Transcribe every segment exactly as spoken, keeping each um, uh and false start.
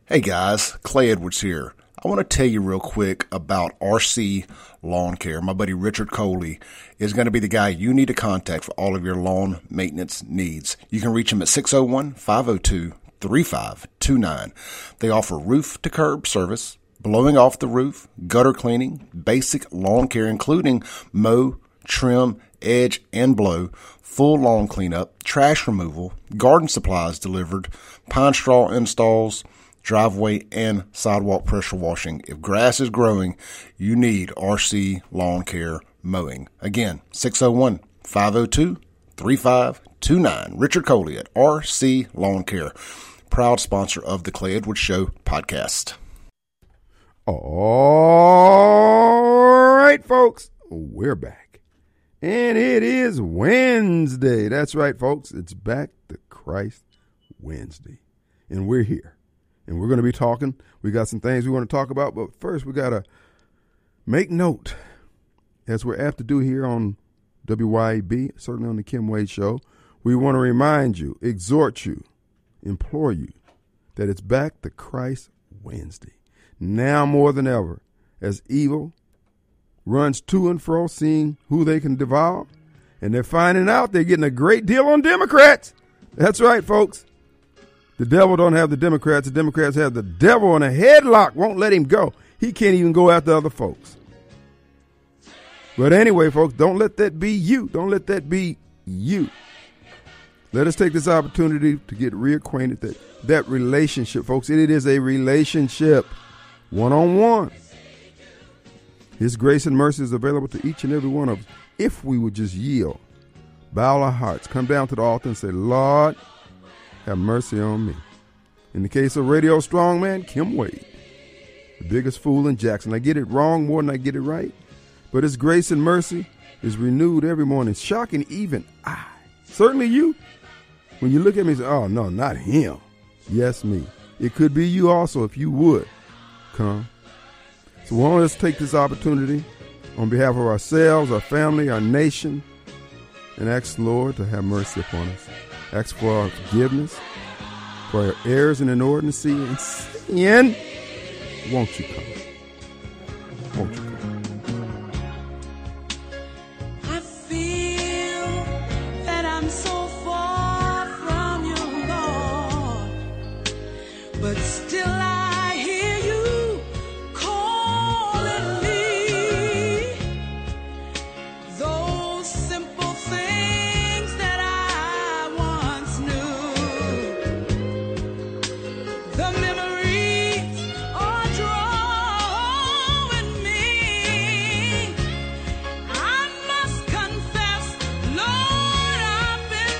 Hey guys, Clay Edwards here. I want to tell you real quick about R C Lawn Care. My buddy Richard Coley is going to be the guy you need to contact for all of your lawn maintenance needs. You can reach him at six oh one, five oh two, three five two nine. They offer roof to curb service, blowing off the roof, gutter cleaning, basic lawn care including mow, trim, edge, and blow, full lawn cleanup, trash removal, garden supplies delivered, pine straw installs, driveway and sidewalk pressure washing. If grass is growing, you need R C Lawn Care Mowing. Again, six oh one, five oh two, three five two nine. Richard Coley at R C Lawn Care, proud sponsor of the Clay Edwards Show podcast. All right, folks, we're back. And it is Wednesday. That's right, folks. It's Back to Christ Wednesday. And we're here. And we're going to be talking. We got some things we want to talk about. But first, we got to make note, as we're apt to do here on W Y A B, certainly on the Kim Wade Show. We want to remind you, exhort you, implore you that it's Back to Christ Wednesday. Now more than ever, as evil runs to and fro, seeing who they can devour, and they're finding out they're getting a great deal on Democrats. That's right, folks. The devil don't have the Democrats. The Democrats have the devil in a headlock. Won't let him go. He can't even go after other folks. But anyway, folks, don't let that be you. Don't let that be you. Let us take this opportunity to get reacquainted that that relationship, folks. It is a relationship, one-on-one. His grace and mercy is available to each and every one of us if we would just yield, bow our hearts, come down to the altar and say, Lord, have mercy on me. In the case of Radio Strongman, Kim Wade, the biggest fool in Jackson. I get it wrong more than I get it right, but his grace and mercy is renewed every morning, shocking even I. Certainly you. When you look at me and say, oh, no, not him. Yes, me. It could be you also if you would come. So we want us to take this opportunity on behalf of ourselves, our family, our nation, and ask the Lord to have mercy upon us. Ask for our forgiveness, for our errors and inordinacy and sin. Won't you come? Won't you come? I feel that I'm so far from you, Lord, but still I hear you calling me. Those simple things that I once knew, the memories are drawing me. I must confess, Lord, I've been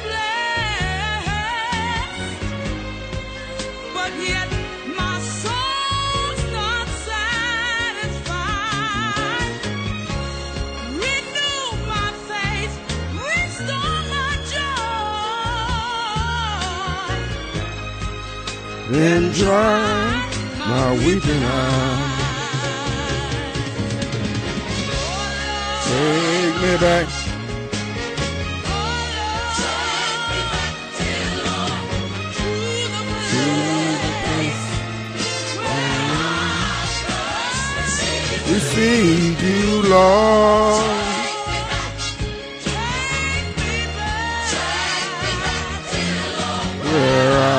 blessed, but yet my soul's not satisfied. Renew my faith, restore my joy, And dry my weeping eyes. Take me back. Received you, Lord. Where I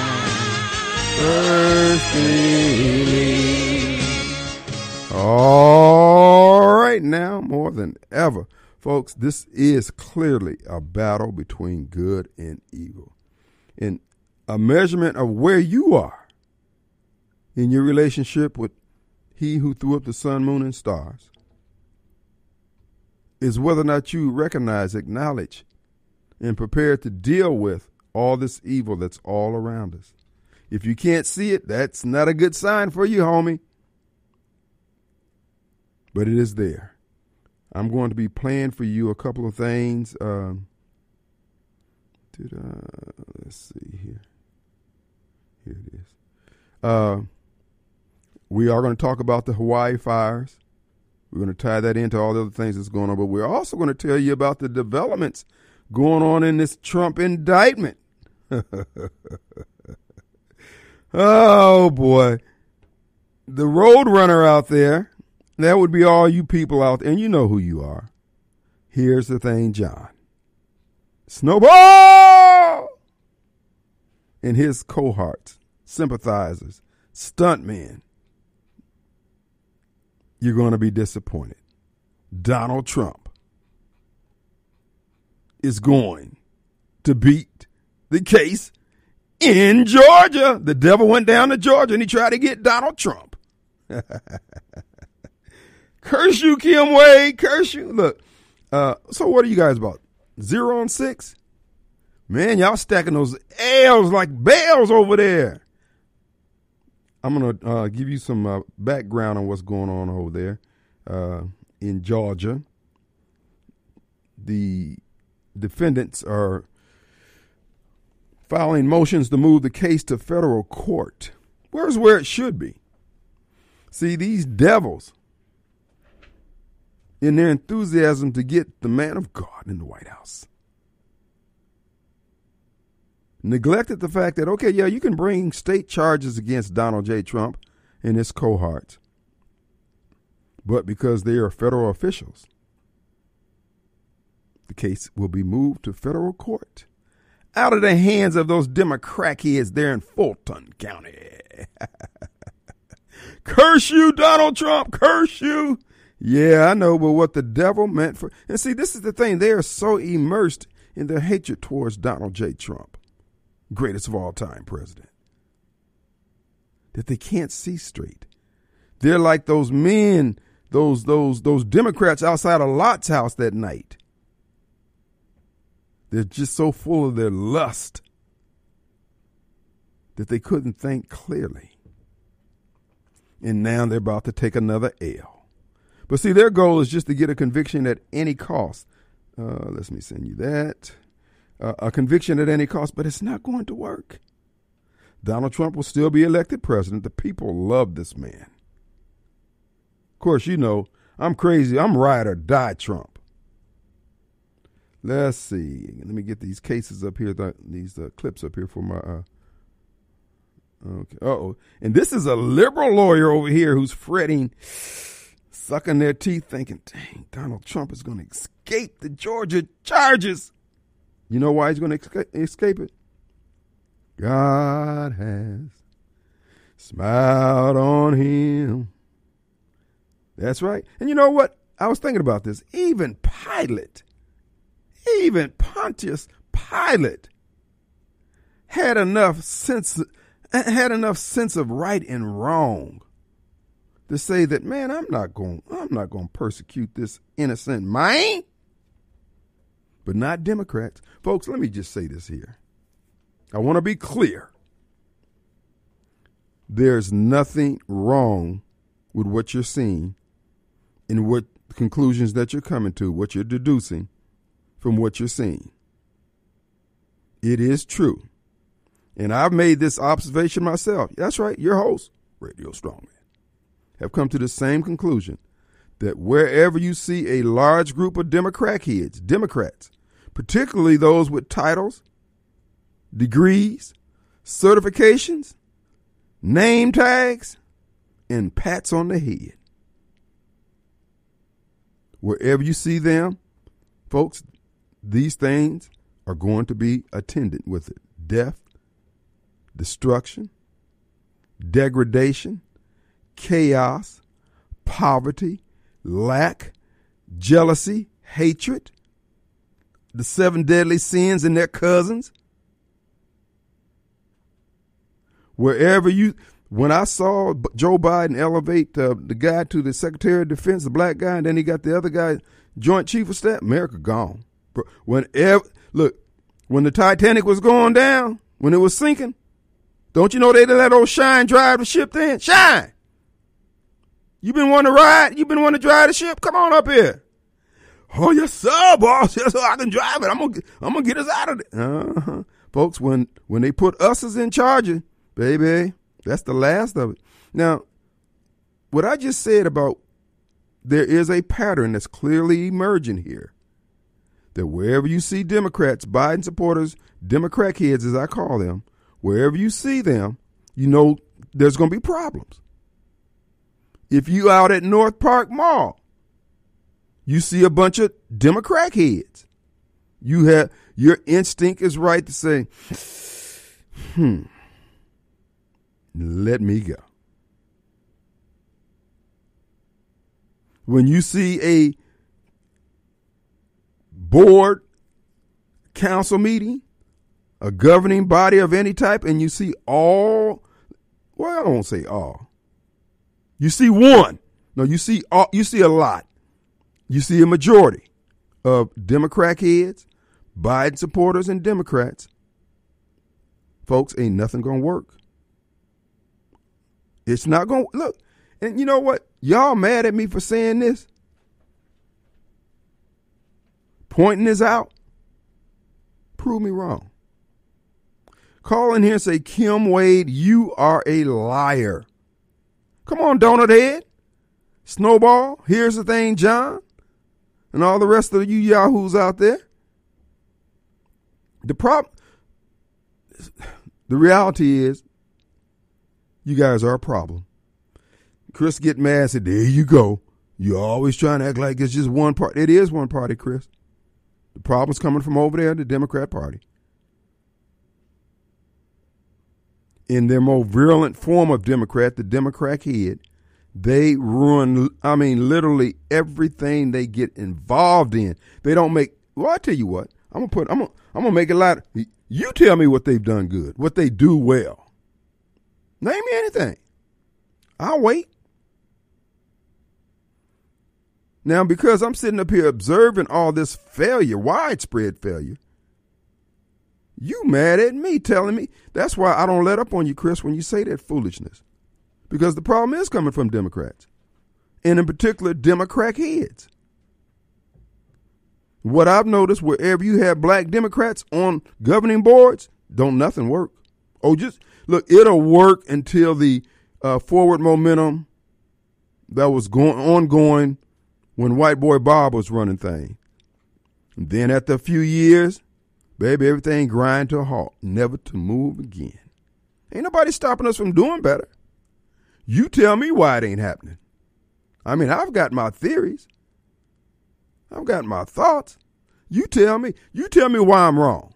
first believed. All right, now more than ever, folks, this is clearly a battle between good and evil. And a measurement of where you are in your relationship with He who threw up the sun, moon, and stars is whether or not you recognize, acknowledge, and prepare to deal with all this evil that's all around us. If you can't see it, that's not a good sign for you, homie. But it is there. I'm going to be playing for you a couple of things. Um, did uh, let's see here. Here it is. Uh, we are going to talk about the Hawaii fires. We're going to tie that into all the other things that's going on. But we're also going to tell you about the developments going on in this Trump indictment. Oh, boy. The road runner out there, that would be all you people out there, and you know who you are. Here's the thing, John. Snowball! And his cohorts, sympathizers, stuntmen. You're going to be disappointed. Donald Trump is going to beat the case in Georgia. The devil went down to Georgia and he tried to get Donald Trump. Curse you, Kim Wade. Curse you. Look, uh, so what are you guys about? Zero and six? Man, y'all stacking those L's like bells over there. I'm going to uh, give you some uh, background on what's going on over there uh, in Georgia. The defendants are filing motions to move the case to federal court. Where's where it should be? See, these devils, in their enthusiasm to get the man of God in the White House, neglected the fact that, okay, yeah, you can bring state charges against Donald J. Trump and his cohorts, but because they are federal officials, the case will be moved to federal court out of the hands of those Democrat heads there in Fulton County. Curse you, Donald Trump, curse you. Yeah, I know, but what the devil meant for... And see, this is the thing. They are so immersed in their hatred towards Donald J. Trump, greatest of all time president, that they can't see straight. They're like those men, those those those Democrats outside of Lot's house that night. They're just so full of their lust that they couldn't think clearly. And now they're about to take another L. But see, their goal is just to get a conviction at any cost. Uh, let me send you that. Uh, a conviction at any cost, but it's not going to work. Donald Trump will still be elected president. The people love this man. Of course, you know, I'm crazy. I'm ride or die Trump. Let's see. Let me get these cases up here, th- these uh, clips up here for my... Uh, okay. Uh-oh. And this is a liberal lawyer over here who's fretting, sucking their teeth, thinking, dang, Donald Trump is going to escape the Georgia charges. You know why he's going to escape it? God has smiled on him. That's right. And you know what? I was thinking about this. Even Pilate, even Pontius Pilate had enough sense, had enough sense of right and wrong to say that, man, I'm not going, I'm not going to persecute this innocent man. But not Democrats. Folks, let me just say this here. I want to be clear. There's nothing wrong with what you're seeing and what conclusions that you're coming to, what you're deducing from what you're seeing. It is true. And I've made this observation myself. That's right. Your host, Radio Strongman, have come to the same conclusion that wherever you see a large group of Democrat heads, Democrats, particularly those with titles, degrees, certifications, name tags, and pats on the head. Wherever you see them, folks, these things are going to be attendant with it. Death, destruction, degradation, chaos, poverty, lack, jealousy, hatred, the seven deadly sins and their cousins. Wherever you, when I saw Joe Biden elevate uh, the guy to the Secretary of Defense, the black guy, and then he got the other guy, Joint Chief of Staff, America gone. Whenever, look, when the Titanic was going down, when it was sinking, don't you know they let old Shine drive the ship then? Shine! You been wanting to ride? You been wanting to drive the ship? Come on up here. Oh, yes, sir, boss. Yes, sir, I can drive it. I'm gonna, I'm gonna get us out of it. Uh-huh. Folks, when, when they put us as in charge, baby, that's the last of it. Now, what I just said about there is a pattern that's clearly emerging here. That wherever you see Democrats, Biden supporters, Democrat kids, as I call them, wherever you see them, you know there's going to be problems. If you out at North Park Mall, you see a bunch of Democrat heads. You have your instinct is right to say, hmm, let me go. When you see a board council meeting, a governing body of any type, and you see all, well, I won't say all. You see one. No, you see all, you see a lot. You see a majority of Democrat heads, Biden supporters, and Democrats. Folks, ain't nothing going to work. It's not going to, look, and you know what? Y'all mad at me for saying this? Pointing this out? Prove me wrong. Call in here and say, Kim Wade, you are a liar. Come on, Donut Head. Snowball, here's the thing, John, and all the rest of you yahoos out there. The problem, the reality is, you guys are a problem. Chris get mad and said, there you go. You're always trying to act like it's just one party. It is one party, Chris. The problem's coming from over there, the Democrat Party. In their more virulent form of Democrat, the Democrat head, they ruin, I mean, literally everything they get involved in. They don't make, well, I tell you what, I'm going to put, I'm going I'm to make it loud. You tell me what they've done good, what they do well. Name me anything. I'll wait. Now, because I'm sitting up here observing all this failure, widespread failure, you mad at me telling me. That's why I don't let up on you, Chris, when you say that foolishness. Because the problem is coming from Democrats, and in particular, Democrat heads. What I've noticed, wherever you have black Democrats on governing boards, don't nothing work. Oh, just look, it'll work until the uh, forward momentum that was going ongoing when White Boy Bob was running things. And then after a few years, baby, everything grind to a halt, never to move again. Ain't nobody stopping us from doing better. You tell me why it ain't happening. I mean, I've got my theories. I've got my thoughts. You tell me. You tell me why I'm wrong.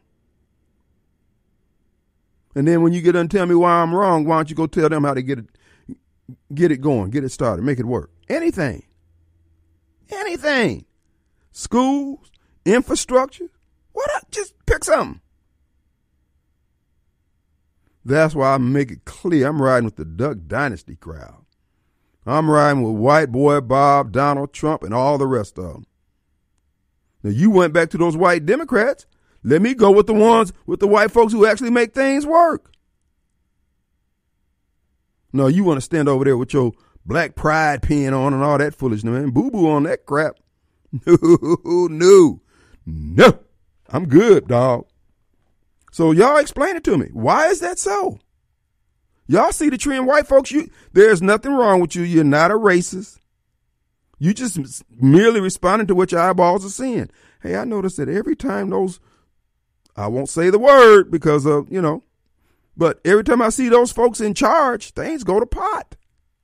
And then when you get done tell me why I'm wrong, why don't you go tell them how to get it, get it going, get it started, make it work. Anything. Anything. Schools, infrastructure. What? Just pick something. That's why I make it clear I'm riding with the Duck Dynasty crowd. I'm riding with White Boy Bob, Donald Trump, and all the rest of them. Now, you went back to those white Democrats. Let me go with the ones, with the white folks who actually make things work. No, you want to stand over there with your black pride pin on and all that foolishness, man. Boo-boo on that crap. No, no, no. I'm good, dog. So y'all explain it to me. Why is that so? Y'all see the trend, white folks, you there's nothing wrong with you. You're not a racist. You just merely responding to what your eyeballs are seeing. Hey, I noticed that every time those, I won't say the word because of, you know, but every time I see those folks in charge, things go to pot.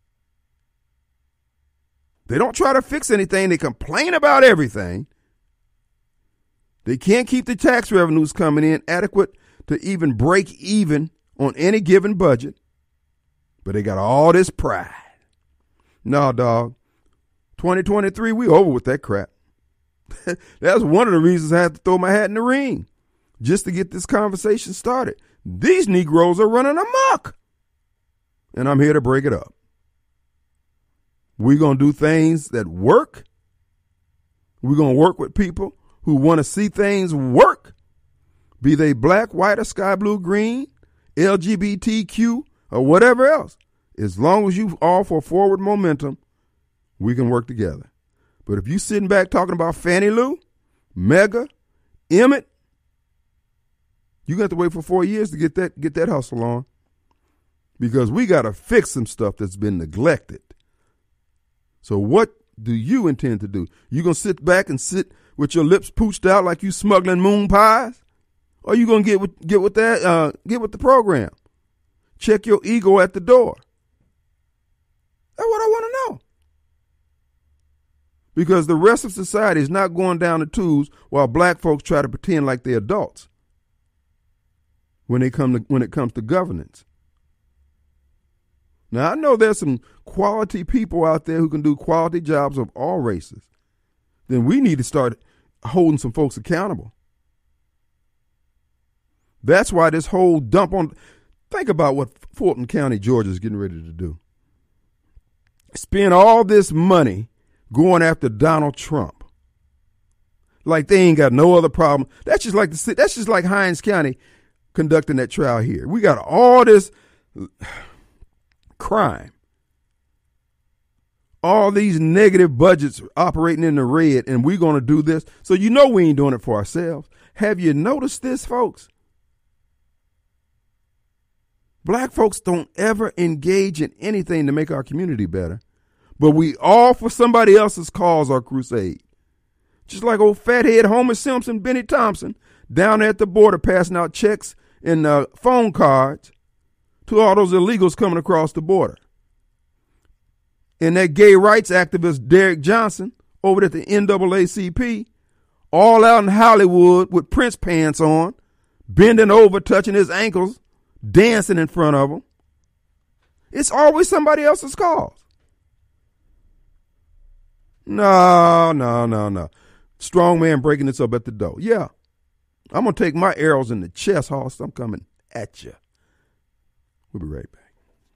They don't try to fix anything. They complain about everything. They can't keep the tax revenues coming in adequate to even break even on any given budget. But they got all this pride. No, dog. twenty twenty-three, we over with that crap. That's one of the reasons I had to throw my hat in the ring, just to get this conversation started. These Negroes are running amok, and I'm here to break it up. We're going to do things that work. We're going to work with people who want to see things work, be they black, white, or sky blue, green, L G B T Q, or whatever else. As long as you all for forward momentum, we can work together. But if you sitting back talking about Fannie Lou, Mega, Emmett, you got to wait for four years to get that get that hustle on, because we got to fix some stuff that's been neglected. So what do you intend to do? You gonna sit back and sit with your lips pooched out like you smuggling moon pies, or you gonna get with get with that uh, get with the program? check your ego at the door. That's what I want to know. Because the rest of society is not going down the tubes while black folks try to pretend like they're adults when they come to, when it comes to governance. Now, I know there's some quality people out there who can do quality jobs of all races. Then we need to start holding some folks accountable. That's why this whole dump on, think about what Fulton County, Georgia is getting ready to do. Spend all this money going after Donald Trump. Like they ain't got no other problem. That's just like the that's just like Hinds County conducting that trial here. We got all this crime. All these negative budgets operating in the red, and we're going to do this. So you know we ain't doing it for ourselves. Have you noticed this, folks? Black folks don't ever engage in anything to make our community better, but we all for somebody else's cause or crusade. Just like old fathead Homer Simpson, Benny Thompson, down there at the border passing out checks and uh, phone cards to all those illegals coming across the border. And that gay rights activist Derek Johnson over at the N double A C P, all out in Hollywood with Prince pants on, bending over, touching his ankles, dancing in front of them. It's always somebody else's cause. No, no, no, no. Strong man breaking this up at the door. Yeah. I'm going to take my arrows in the chest, Hoss. I'm coming at you. We'll be right back.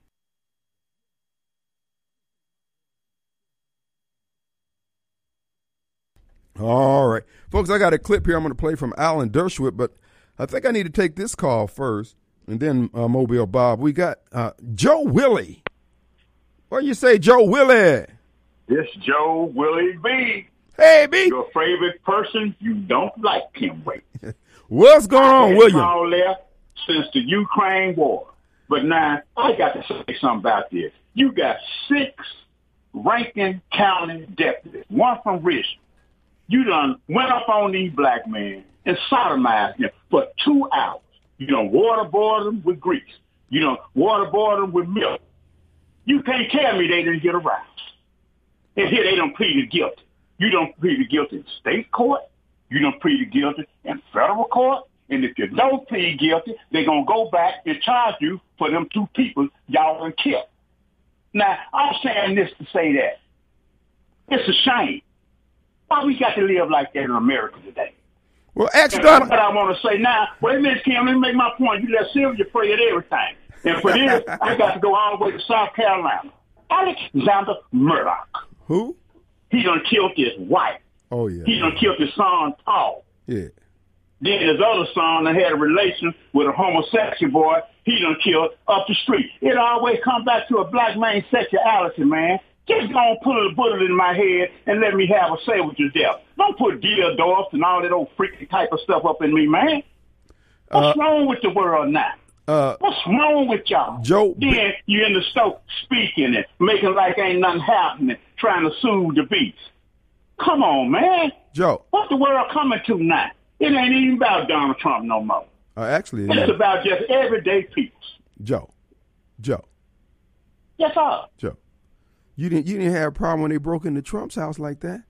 All right. Folks, I got a clip here I'm going to play from Alan Dershowitz, but I think I need to take this call first, and then uh, Mobile Bob. We got uh, Joe Willie. What do you say, Joe Willie? This Joe Willie B. Hey, B. Your favorite person, you don't like him. Wait. What's going on, William? All left since the Ukraine war. But now, I got to say something about this. You got six Rankin County deputies, one from Richmond. You done went up on these black men and sodomized them for two hours. You done waterboarded them with grease. You done waterboarded them with milk. You can't tell me they didn't get aroused. And here they done pleaded guilty. You don't plead guilty in state court. You don't plead guilty in federal court. And if you don't plead guilty, they're going to go back and charge you for them two people y'all done killed. Now, I'm saying this to say that it's a shame. Why we got to live like that in America today? Well, ask and Donald. What I want to say now, wait a minute, Kim, let me make my point. You let Sylvia pray at everything. And for this, I got to go all the way to South Carolina. Alexander Murdoch. Who? He done killed his wife. Oh, yeah. He done killed his son, Paul. Yeah. Then his other son that had a relation with a homosexual boy, he done killed up the street. It always comes back to a black man's sexuality, man. Just don't put a bullet in my head and let me have a say with your death. Don't put dildos and all that old freaky type of stuff up in me, man. What's uh, wrong with the world now? Uh, What's wrong with y'all? Joe, then you in the store speaking and making like ain't nothing happening, trying to soothe the beast. Come on, man. Joe. What's the world coming to now? It ain't even about Donald Trump no more. Uh, actually, it's yeah. about just everyday people. Joe. Joe. Yes, sir. Joe. You didn't you didn't have a problem when they broke into Trump's house like that?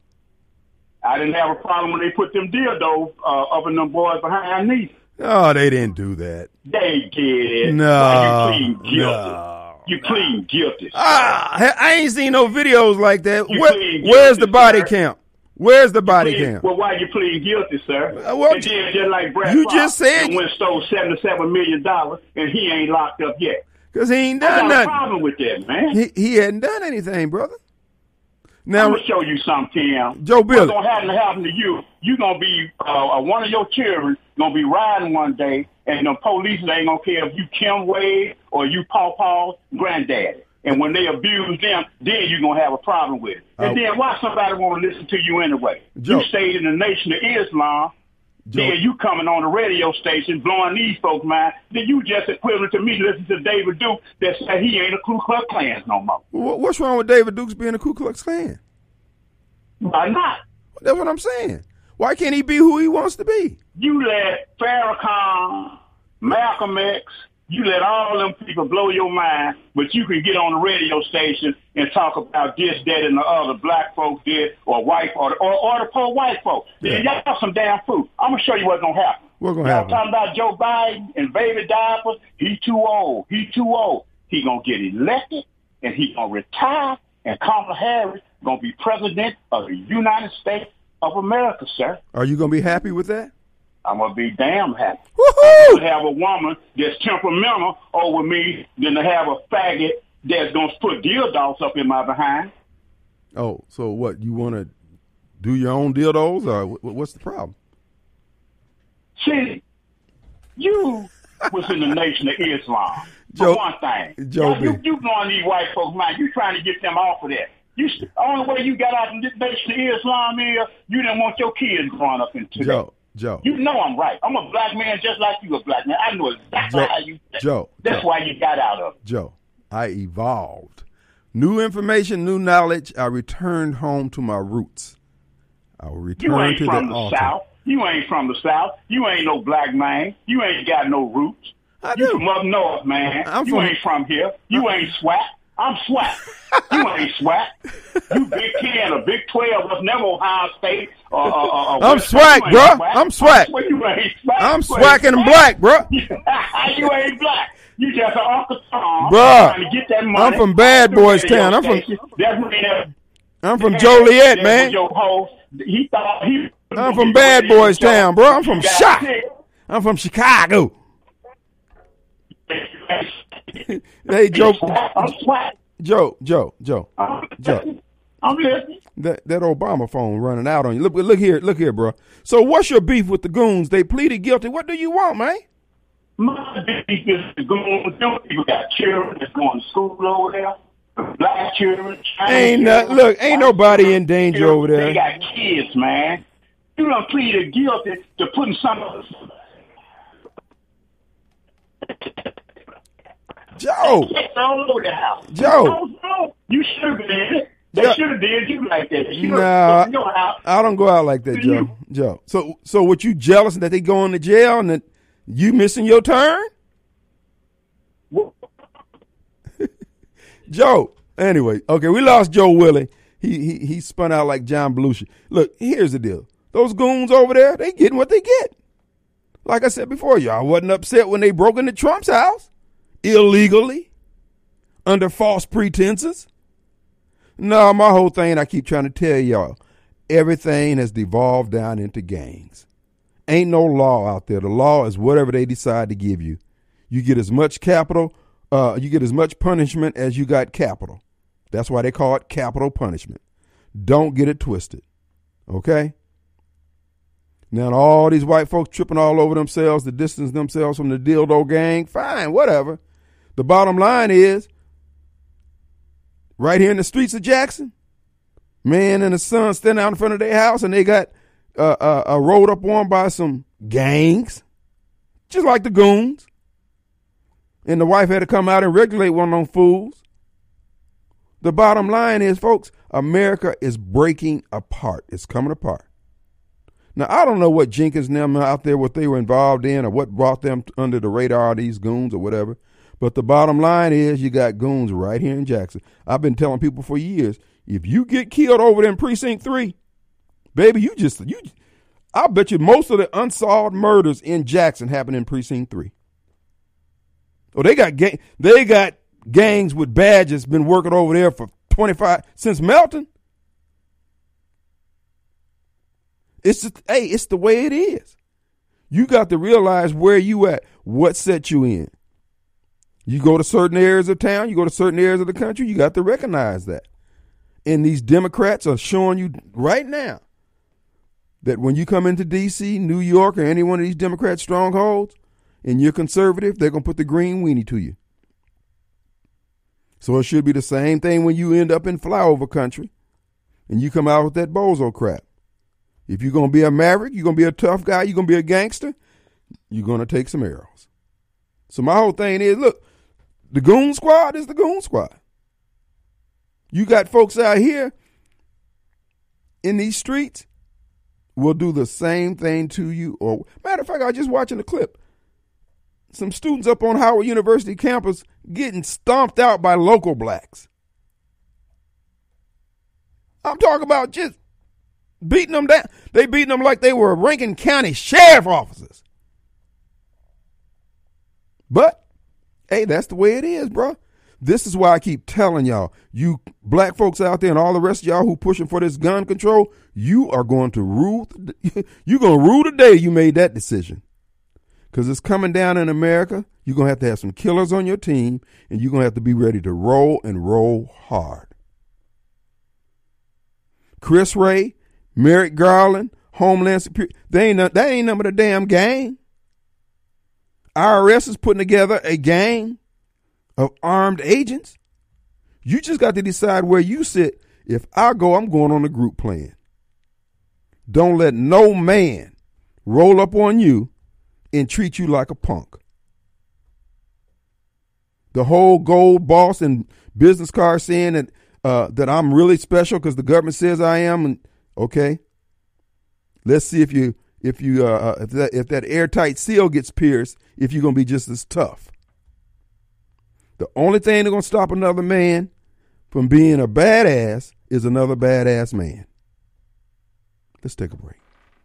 I didn't have a problem when they put them dildos uh, up in them boys behind me. Oh, they didn't do that. They did. No. Well, you plead guilty. No. You plead guilty. Ah, I ain't seen no videos like that. Where, guilty, where's the body sir. Cam? Where's the body plead, cam? Well, why you plead guilty, sir? Uh, well, and then just like Brad you Fox, just said and went stole seventy-seven million dollars, and he ain't locked up yet. Because he ain't done I got nothing. a problem with that, man. He, he hadn't done anything, brother. Now, I'm going to show you something, Tim. Joe Billy. What's going to happen to happen to you, you're going to be, uh, one of your children going to be riding one day, and the police ain't going to care if you Kim Wade or you Paw Paw's granddaddy. And when they abuse them, then you're going to have a problem with it. And uh, then why somebody want to listen to you anyway? Joe. You stayed in the Nation of Islam. Joe. Then you coming on the radio station blowing these folks' mind. Then you just equivalent to me listening to David Duke that said he ain't a Ku Klux Klan no more. What's wrong with David Duke's being a Ku Klux Klan? Why not? That's what I'm saying. Why can't he be who he wants to be? You let Farrakhan, Malcolm X, You let all them people blow your mind, but you can get on the radio station and talk about this, that, and the other. Black folks did, or white, or or, or the poor white folks. Yeah. Y'all some damn fool. I'm gonna show you what's gonna happen. What's gonna Y'all happen? talking about Joe Biden and baby diapers? He too old. He too old. He gonna get elected and he gonna retire, and Kamala Harris gonna be president of the United States of America, sir. Are you gonna be happy with that? I'm gonna be damn happy. Woohoo! To have a woman that's temperamental over me than to have a faggot that's gonna put dildos up in my behind. Oh, so what? You want to do your own dildos, or wh- what's the problem? See, you was in the Nation of Islam. For Joe- one thing, Joe you, B. you going these white folks' mind. You trying to get them off of that. You the only way you got out of the Nation of Islam is you didn't want your kids growing up into Joe, that. Joe, You know I'm right. I'm a black man just like you a black man. I know exactly Joe, how you think. Joe, That's Joe. why you got out of it. Joe, I evolved. New information, new knowledge. I returned home to my roots. I will You return ain't to from the the altar. South. You ain't from the South. You ain't no black man. You ain't got no roots. I You do. from up north, man. I'm you from- ain't from here. You ain't swat. I'm swat. You ain't swat. You Big Ten or Big Twelve was never Ohio State. Or, or, or, or I'm West- swag, you ain't bruh. swat. I'm swag. Well, you ain't swat. I'm You ain't swacking and swat. black, bro. You ain't black. You just an Uncle Tom Bruh, trying to get that money. I'm from Bad off the Boys radio Town. I'm from- station. That's when that I'm from that- Joliet, that man. was your host. He thought he. I'm from Bad Boys Town, bro. I'm from Got Shot. sick. I'm from Chicago. Hey, Joe, I'm swat. Joe, Joe, Joe, I'm Joe. listening. I'm listening. That that Obama phone running out on you. Look, look here, look here, bro. So, what's your beef with the goons? They pleaded guilty. What do you want, man? My beef is going. Them people got children that's going to school over there. Black children. Chinese Ain't not, children, look, ain't white nobody children, in danger children. over there. They got kids, man. You done pleaded guilty to putting some of Joe, It's all over the house. Joe. No, no, you should have been in it. They Joe. should have did you like that. They should've Nah, put in your house. I don't go out like that, Joe. Joe. So, so what? You jealous that they going to jail and that you missing your turn, Joe? Anyway, okay, we lost Joe Willie. He he he spun out like John Belushi. Look, here's the deal. Those goons over there, they getting what they get. Like I said before, y'all wasn't upset when they broke into Trump's house illegally under false pretenses. No, my whole thing, I keep trying to tell y'all, everything has devolved down into gangs. Ain't no law out there. The law is whatever they decide to give you. You get as much capital, uh, you get as much punishment as you got capital. That's why they call it capital punishment. Don't get it twisted. Okay? Now, all these white folks tripping all over themselves to distance themselves from the dildo gang, fine, whatever. The bottom line is, right here in the streets of Jackson, man and the son standing out in front of their house and they got uh, uh, uh, rolled up on by some gangs, just like the goons. And the wife had to come out and regulate one of them fools. The bottom line is, folks, America is breaking apart. It's coming apart. Now, I don't know what Jenkins and them out there, what they were involved in or what brought them under the radar of these goons or whatever. But the bottom line is you got goons right here in Jackson. I've been telling people for years, if you get killed over there in Precinct three, baby, you just, you. I bet you most of the unsolved murders in Jackson happen in Precinct three. Oh, they got gang, they got gangs with badges been working over there for twenty-five, since Melton. It's just, hey, it's the way it is. You got to realize where you at, what set you in. You go to certain areas of town, you go to certain areas of the country, you got to recognize that. And these Democrats are showing you right now that when you come into D C, New York, or any one of these Democrat strongholds, and you're conservative, they're going to put the green weenie to you. So it should be the same thing when you end up in flyover country and you come out with that bozo crap. If you're going to be a maverick, you're going to be a tough guy, you're going to be a gangster, you're going to take some arrows. So my whole thing is, look, the goon squad is the goon squad. You got folks out here in these streets will do the same thing to you. Or matter of fact, I was just watching a clip. some students up on Howard University campus getting stomped out by local blacks. I'm talking about just beating them down. They beating them like they were Rankin County sheriff officers. But, hey, that's the way it is, bro. This is why I keep telling y'all, you black folks out there and all the rest of y'all who pushing for this gun control, you are going to rule. You're going to rule the day you made that decision. Because it's coming down in America. You're going to have to have some killers on your team, and you're going to have to be ready to roll and roll hard. Chris Wray, Merrick Garland, Homeland Security, they ain't no, that ain't none but a damn gang. I R S is putting together a gang of armed agents. You just got to decide where you sit. If I go, I'm going on a group plan. Don't let no man roll up on you and treat you like a punk. The whole gold boss and business card saying that uh, that I'm really special because the government says I am. And okay, let's see if you if you uh, if that if that airtight seal gets pierced, if you're gonna be just as tough. The only thing that's gonna stop another man from being a badass is another badass man. Let's take a break.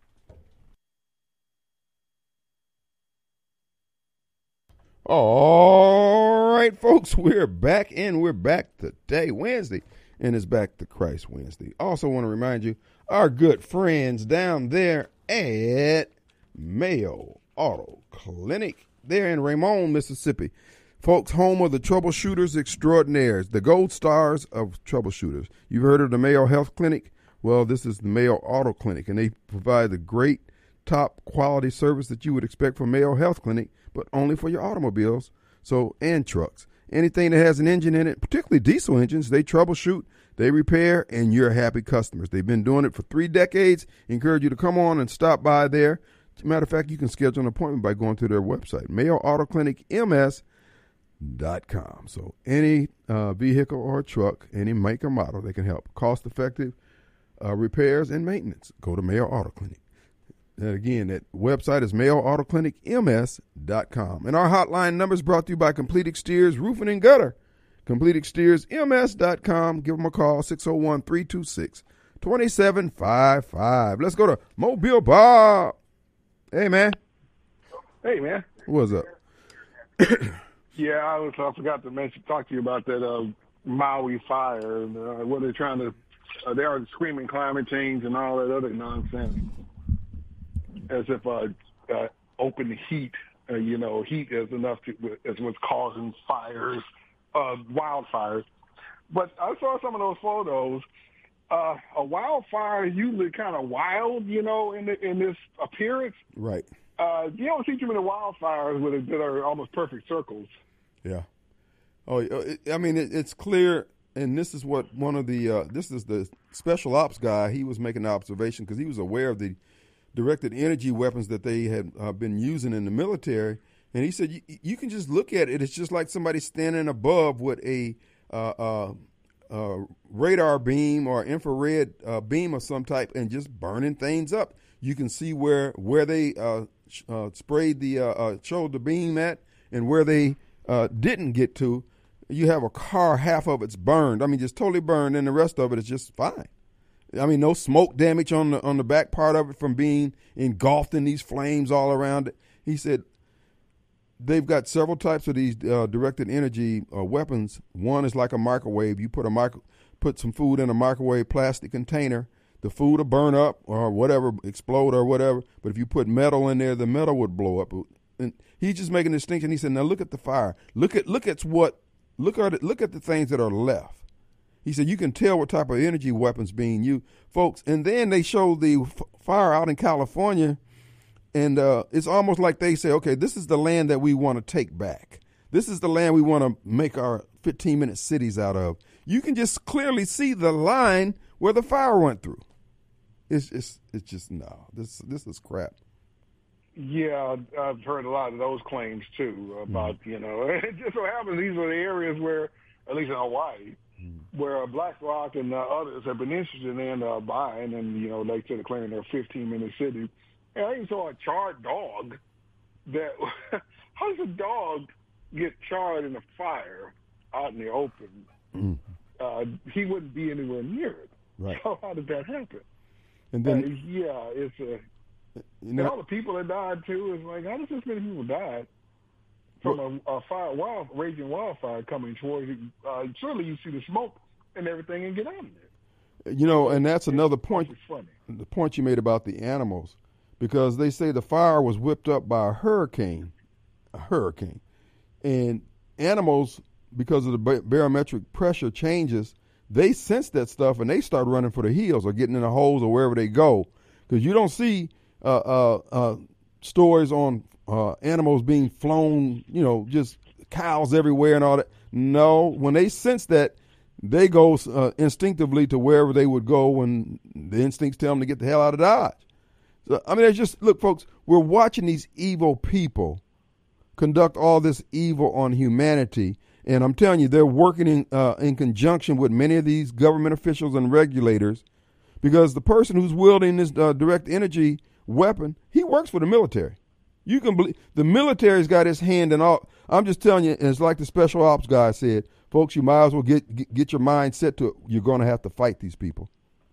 All right, folks, we're back, and we're back today, Wednesday, and it's Back to Christ Wednesday. Also want to remind you, our good friends down there at Mayo Auto Clinic, there in Raymond, Mississippi. Folks, home of the troubleshooters extraordinaires, the gold stars of troubleshooters. You've heard of the Mayo Health Clinic? Well, this is the Mayo Auto Clinic, and they provide the great top quality service that you would expect from Mayo Health Clinic, but only for your automobiles, so and trucks. Anything that has an engine in it, particularly diesel engines, they troubleshoot, they repair, and you're happy customers. They've been doing it for three decades. Encourage you to come on and stop by there. As a matter of fact, you can schedule an appointment by going to their website, mayo auto clinic m s dot com. So any uh, vehicle or truck, any make or model, they can help. Cost-effective uh, repairs and maintenance. Go to Mayo Auto Clinic. And again, that website is mayo auto clinic m s dot com. And our hotline number is brought to you by Complete Exteriors Roofing and Gutter. Complete Exteriors M S dot com. Give them a call, six oh one, three two six, two seven five five. Let's go to Mobile Bob. Hey, man. Hey, man. What's up? Yeah, I was. I forgot to mention, talk to you about that uh, Maui fire. And, uh, what they're trying to, uh, they are screaming climate change and all that other nonsense. As if uh, uh, open heat, uh, you know, heat is enough to, is what's causing fires, uh, wildfires. But I saw some of those photos. Uh, a wildfire is usually kind of wild, you know, in the, in this appearance. Right. Uh, you don't see too many wildfires with that are almost perfect circles. Yeah. Oh, it, I mean, it, it's clear, and this is what one of the uh, this is the special ops guy. He was making the observation because he was aware of the directed energy weapons that they had uh, been using in the military, and he said you, you can just look at it. It's just like somebody standing above with a uh, uh, uh, radar beam or infrared uh, beam of some type and just burning things up. You can see where where they uh, uh, sprayed the uh, uh, showed the beam at and where they uh, didn't get to. You have a car, half of it's burned. I mean, just totally burned, and the rest of it is just fine. I mean, no smoke damage on the on the back part of it from being engulfed in these flames all around it. He said they've got several types of these uh, directed energy uh, weapons. One is like a microwave. You put a micro, put some food in a microwave plastic container. The food will burn up or whatever, explode or whatever. But if you put metal in there, the metal would blow up. And he's just making a distinction. He said, "Now look at the fire. Look at look at what look at it, look at the things that are left." He said, you can tell what type of energy weapons being used, folks. And then they showed the f- fire out in California, and uh, it's almost like they say, okay, this is the land that we want to take back. This is the land we want to make our fifteen-minute cities out of. You can just clearly see the line where the fire went through. It's it's it's just, no, this this is crap. Yeah, I've heard a lot of those claims, too, about, mm-hmm. you know, it just so happens these are the areas where, at least in Hawaii, where BlackRock and uh, others have been interested in uh, buying, and, you know, like I said, declaring their fifteen-minute city. And I even saw a charred dog that how does a dog get charred in a fire out in the open? Mm. Uh, he wouldn't be anywhere near it. Right. So how did that happen? And then, uh, yeah, it's a. you And know, all the people that died too is like, how does this many people die from a, a fire, wild, raging wildfire coming towards you? Uh, surely you see the smoke and everything and get out of there. you know, and that's another point. It's funny. The point you made about the animals, because they say the fire was whipped up by a hurricane, a hurricane, and animals, because of the ba- barometric pressure changes, they sense that stuff and they start running for the hills or getting in the holes or wherever they go. Because you don't see uh, uh, uh, stories on uh, animals being flown, you know, just cows everywhere and all that. No, when they sense that, they go uh, instinctively to wherever they would go when the instincts tell them to get the hell out of Dodge. So, I mean, it's just, look, folks, we're watching these evil people conduct all this evil on humanity. And I'm telling you, they're working in uh, in conjunction with many of these government officials and regulators, because the person who's wielding this uh, direct energy weapon, he works for the military. You can believe the military's got his hand in all. I'm just telling you, it's like the special ops guy said, folks, you might as well get get, get your mind set to it. You're going to have to fight these people.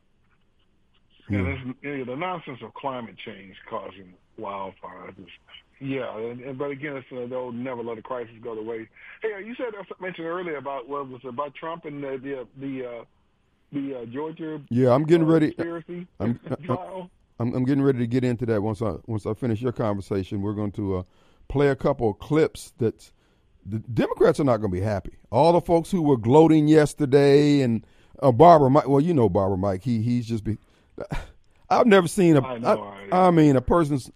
Yeah, this, yeah, the nonsense of climate change causing wildfires is, yeah, and, and, but again, it's, uh, they'll never let a crisis go to waste. Hey, uh, you said uh, mentioned earlier about what was it, about Trump and the the the, uh, the uh, Georgia Yeah, I'm getting uh, ready. conspiracy I'm, trial. I'm, I'm getting ready to get into that once I once I finish your conversation. We're going to uh, play a couple of clips that the Democrats are not going to be happy. All the folks who were gloating yesterday and uh, Barbara Mike. Well, you know Barbara Mike. He he's just be. I've never seen a. I know, I, I mean, a person's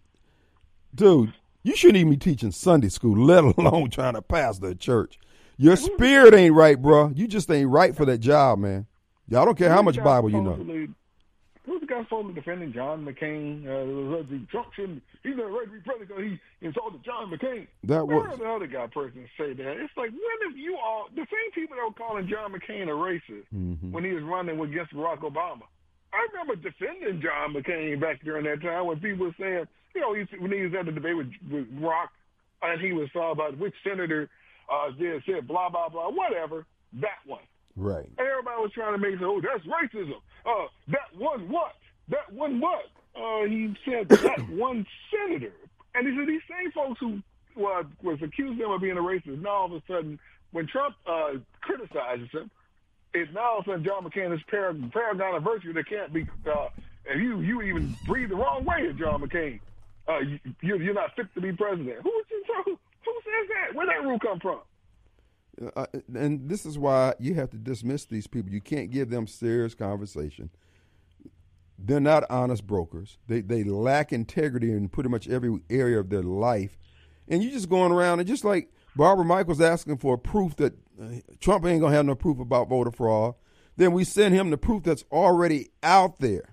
dude. You shouldn't even be teaching Sunday school, let alone trying to pastor a church. Your spirit ain't right, bro. You just ain't right for that job, man. Y'all don't care how much Bible you know. Who's the guy supposedly defending John McCain? Uh, Trump shouldn't. He's not right to be president because he insulted John McCain. That was the other guy person say that. It's like, when have you all the same people that were calling John McCain a racist mm-hmm. when he was running against Barack Obama? I remember defending John McCain back during that time when people were saying, you know, when he was at the debate with, with Rock, and he was talking about which senator uh, did said blah blah blah, whatever. That one. Right. And everybody was trying to make it, oh, that's racism. Uh, that one what? That one what? Uh, he said that one senator. And these are these same folks who uh, was accused them of being a racist. Now all of a sudden, when Trump uh, criticizes him, it's now all of a sudden John McCain is paragon, paragon of virtue that can't be. Uh, if you you even breathe the wrong way at John McCain, uh, you, you're not fit to be president. Who who, who says that? Where that rule come from? Uh, and this is why you have to dismiss these people. You can't give them serious conversation. They're not honest brokers. They they lack integrity in pretty much every area of their life. And you just going around and just like Barbara Mike was asking for proof that uh, Trump ain't going to have no proof about voter fraud. Then we send him the proof that's already out there.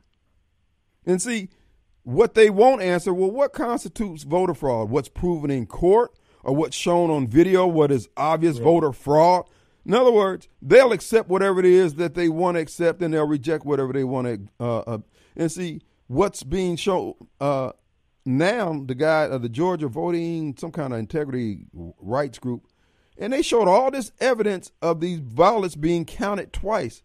And see, what they won't answer, well, what constitutes voter fraud? What's proven in court? Or what's shown on video, what is obvious right. voter fraud. In other words, they'll accept whatever it is that they want to accept, and they'll reject whatever they want to. Uh, uh, and see, what's being shown uh, now, the guy of uh, the Georgia voting, some kind of integrity rights group, and they showed all this evidence of these ballots being counted twice,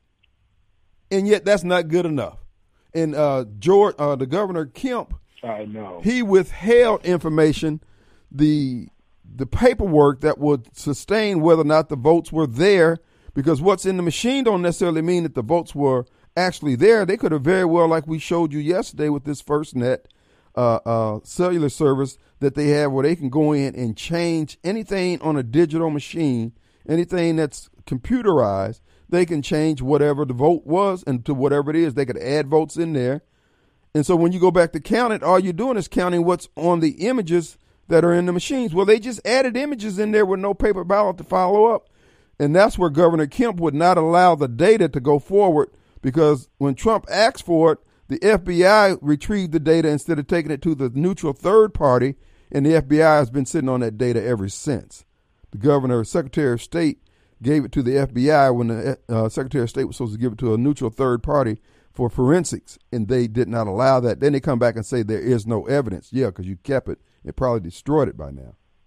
and yet that's not good enough. And uh, George, uh, the governor Kemp, I know he withheld information, the the paperwork that would sustain whether or not the votes were there, because what's in the machine don't necessarily mean that the votes were actually there. They could have very well, like we showed you yesterday with this FirstNet uh, uh, cellular service that they have, where they can go in and change anything on a digital machine, anything that's computerized. They can change whatever the vote was and to whatever it is. They could add votes in there. And so when you go back to count it, all you're doing is counting what's on the images that are in the machines. Well, they just added images in there with no paper ballot to follow up. And that's where Governor Kemp would not allow the data to go forward, because when Trump asked for it, the F B I retrieved the data instead of taking it to the neutral third party, and the F B I has been sitting on that data ever since. The governor, Secretary of State, gave it to the F B I when the uh, Secretary of State was supposed to give it to a neutral third party for forensics, and they did not allow that. Then they come back and say there is no evidence. Yeah, because you kept it. It probably destroyed it by now.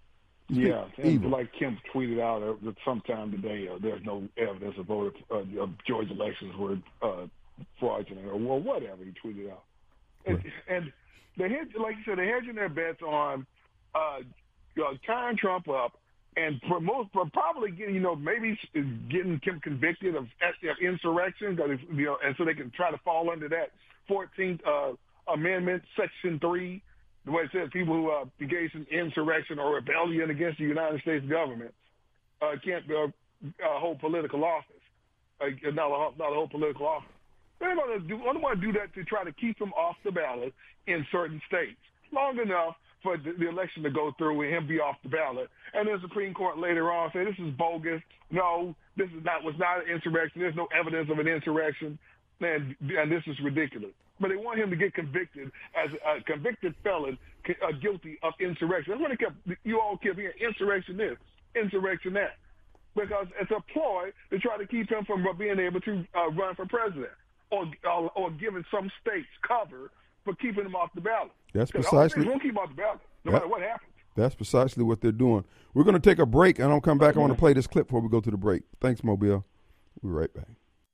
Yeah, and Evil. like Kim tweeted out uh, sometime today, uh, there's no evidence of voter uh, of Georgia elections were uh, fraudulent or well, whatever he tweeted out. And, Right. and they hedge, like you said, they're hedging their bets on uh, you know, tying Trump up and for most, for probably getting, you know, maybe getting Kim convicted of insurrection, cause you know, and so they can try to fall under that fourteenth uh, Amendment, Section three. The way it says people who uh, engage in insurrection or rebellion against the United States government uh, can't uh, uh, hold political office, uh, not, a, not hold political office. They're going to do, I want to do that to try to keep him off the ballot in certain states long enough for the, the election to go through and him be off the ballot. And the Supreme Court later on say this is bogus. No, this is not was not an insurrection. There's no evidence of an insurrection, and, and this is ridiculous. But they want him to get convicted as a convicted felon, uh, guilty of insurrection. That's what they kept. You all kept hearing insurrection this, insurrection that, because it's a ploy to try to keep him from being able to uh, run for president, or uh, or giving some states cover for keeping him off the ballot. That's 'Cause precisely. They won't keep him off the ballot, no Yep. matter what happens. That's precisely what they're doing. We're going to take a break, and I'll come back. I want to play this clip before we go to the break. Thanks, Mobile. We'll be right back.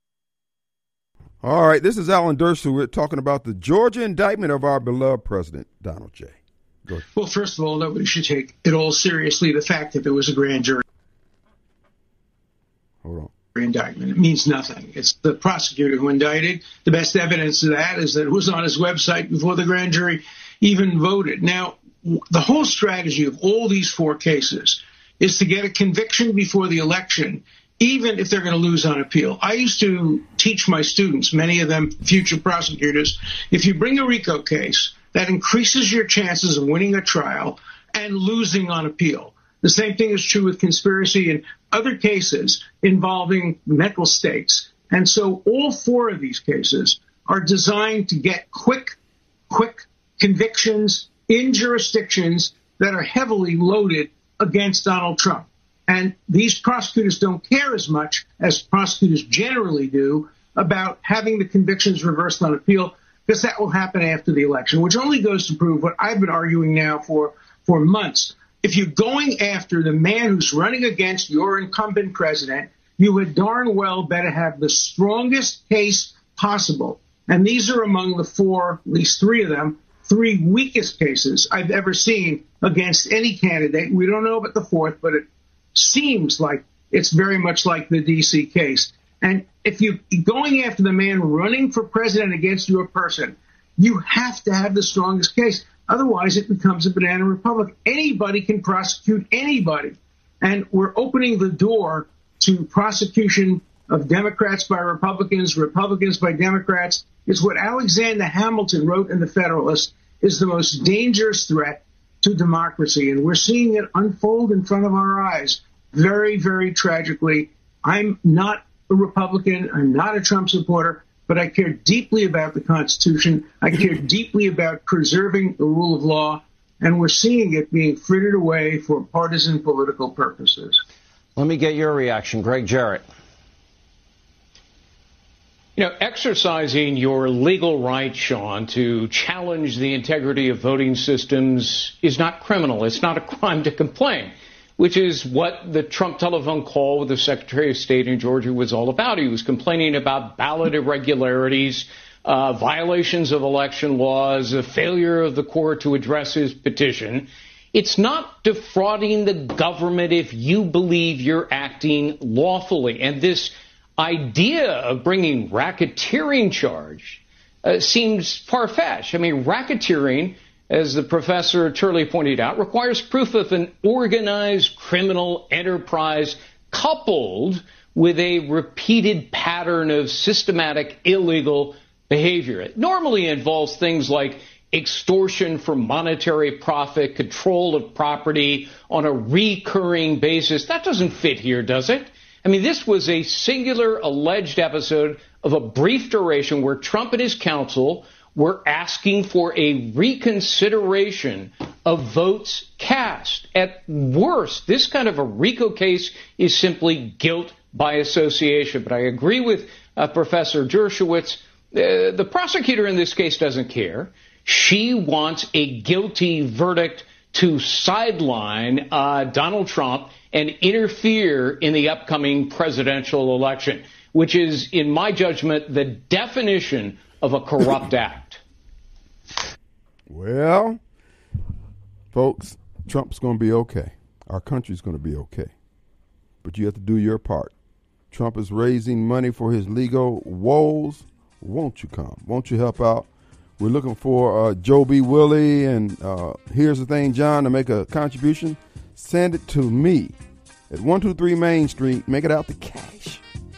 All right, this is Alan Dershowitz talking about the Georgia indictment of our beloved president, Donald J. Go ahead. Well, first of all, nobody should take at all seriously the fact that there was a grand jury Hold on. indictment. It means nothing. It's the prosecutor who indicted. The best evidence of that is that it was on his website before the grand jury even voted. Now, the whole strategy of all these four cases is to get a conviction before the election, even if they're going to lose on appeal. I used to teach my students, many of them future prosecutors, if you bring a RICO case, that increases your chances of winning a trial and losing on appeal. The same thing is true with conspiracy and other cases involving mental states. And so all four of these cases are designed to get quick, quick convictions in jurisdictions that are heavily loaded against Donald Trump. And these prosecutors don't care as much as prosecutors generally do about having the convictions reversed on appeal, because that will happen after the election, which only goes to prove what I've been arguing now for, for months. If you're going after the man who's running against your incumbent president, you would darn well better have the strongest case possible. And these are among the four, at least three of them, three weakest cases I've ever seen against any candidate. We don't know about the fourth, but it seems like it's very much like the D C case. And if you're going after the man running for president against your person, you have to have the strongest case. Otherwise, it becomes a banana republic. Anybody can prosecute anybody. And we're opening the door to prosecution of Democrats by Republicans, Republicans by Democrats. It's what Alexander Hamilton wrote in The Federalist is the most dangerous threat to democracy. And we're seeing it unfold in front of our eyes very, very tragically. I'm not a Republican. I'm not a Trump supporter, but I care deeply about the Constitution. I care deeply about preserving the rule of law, and we're seeing it being frittered away for partisan political purposes. Let me get your reaction, Greg Jarrett. You know, exercising your legal right, Sean, to challenge the integrity of voting systems is not criminal. It's not a crime to complain, which is what the Trump telephone call with the Secretary of State in Georgia was all about. He was complaining about ballot irregularities, uh, violations of election laws, a failure of the court to address his petition. It's not defrauding the government if you believe you're acting lawfully. And this idea of bringing racketeering charge uh, seems far-fetched. I mean, racketeering, as the professor Turley pointed out, requires proof of an organized criminal enterprise coupled with a repeated pattern of systematic illegal behavior. It normally involves things like extortion for monetary profit, control of property on a recurring basis. That doesn't fit here, does it? I mean, this was a singular alleged episode of a brief duration where Trump and his counsel were asking for a reconsideration of votes cast. At worst, this kind of a RICO case is simply guilt by association. But I agree with uh, Professor Dershowitz. Uh, the prosecutor in this case doesn't care. She wants a guilty verdict to sideline uh, Donald Trump and interfere in the upcoming presidential election, which is, in my judgment, the definition of a corrupt act. Well, folks, Trump's going to be okay. Our country's going to be okay. But you have to do your part. Trump is raising money for his legal woes. Won't you come? Won't you help out? We're looking for uh, Joe B. Willie, and uh, here's the thing, John, to make a contribution, send it to me at one two three Main Street. Make it out to cash.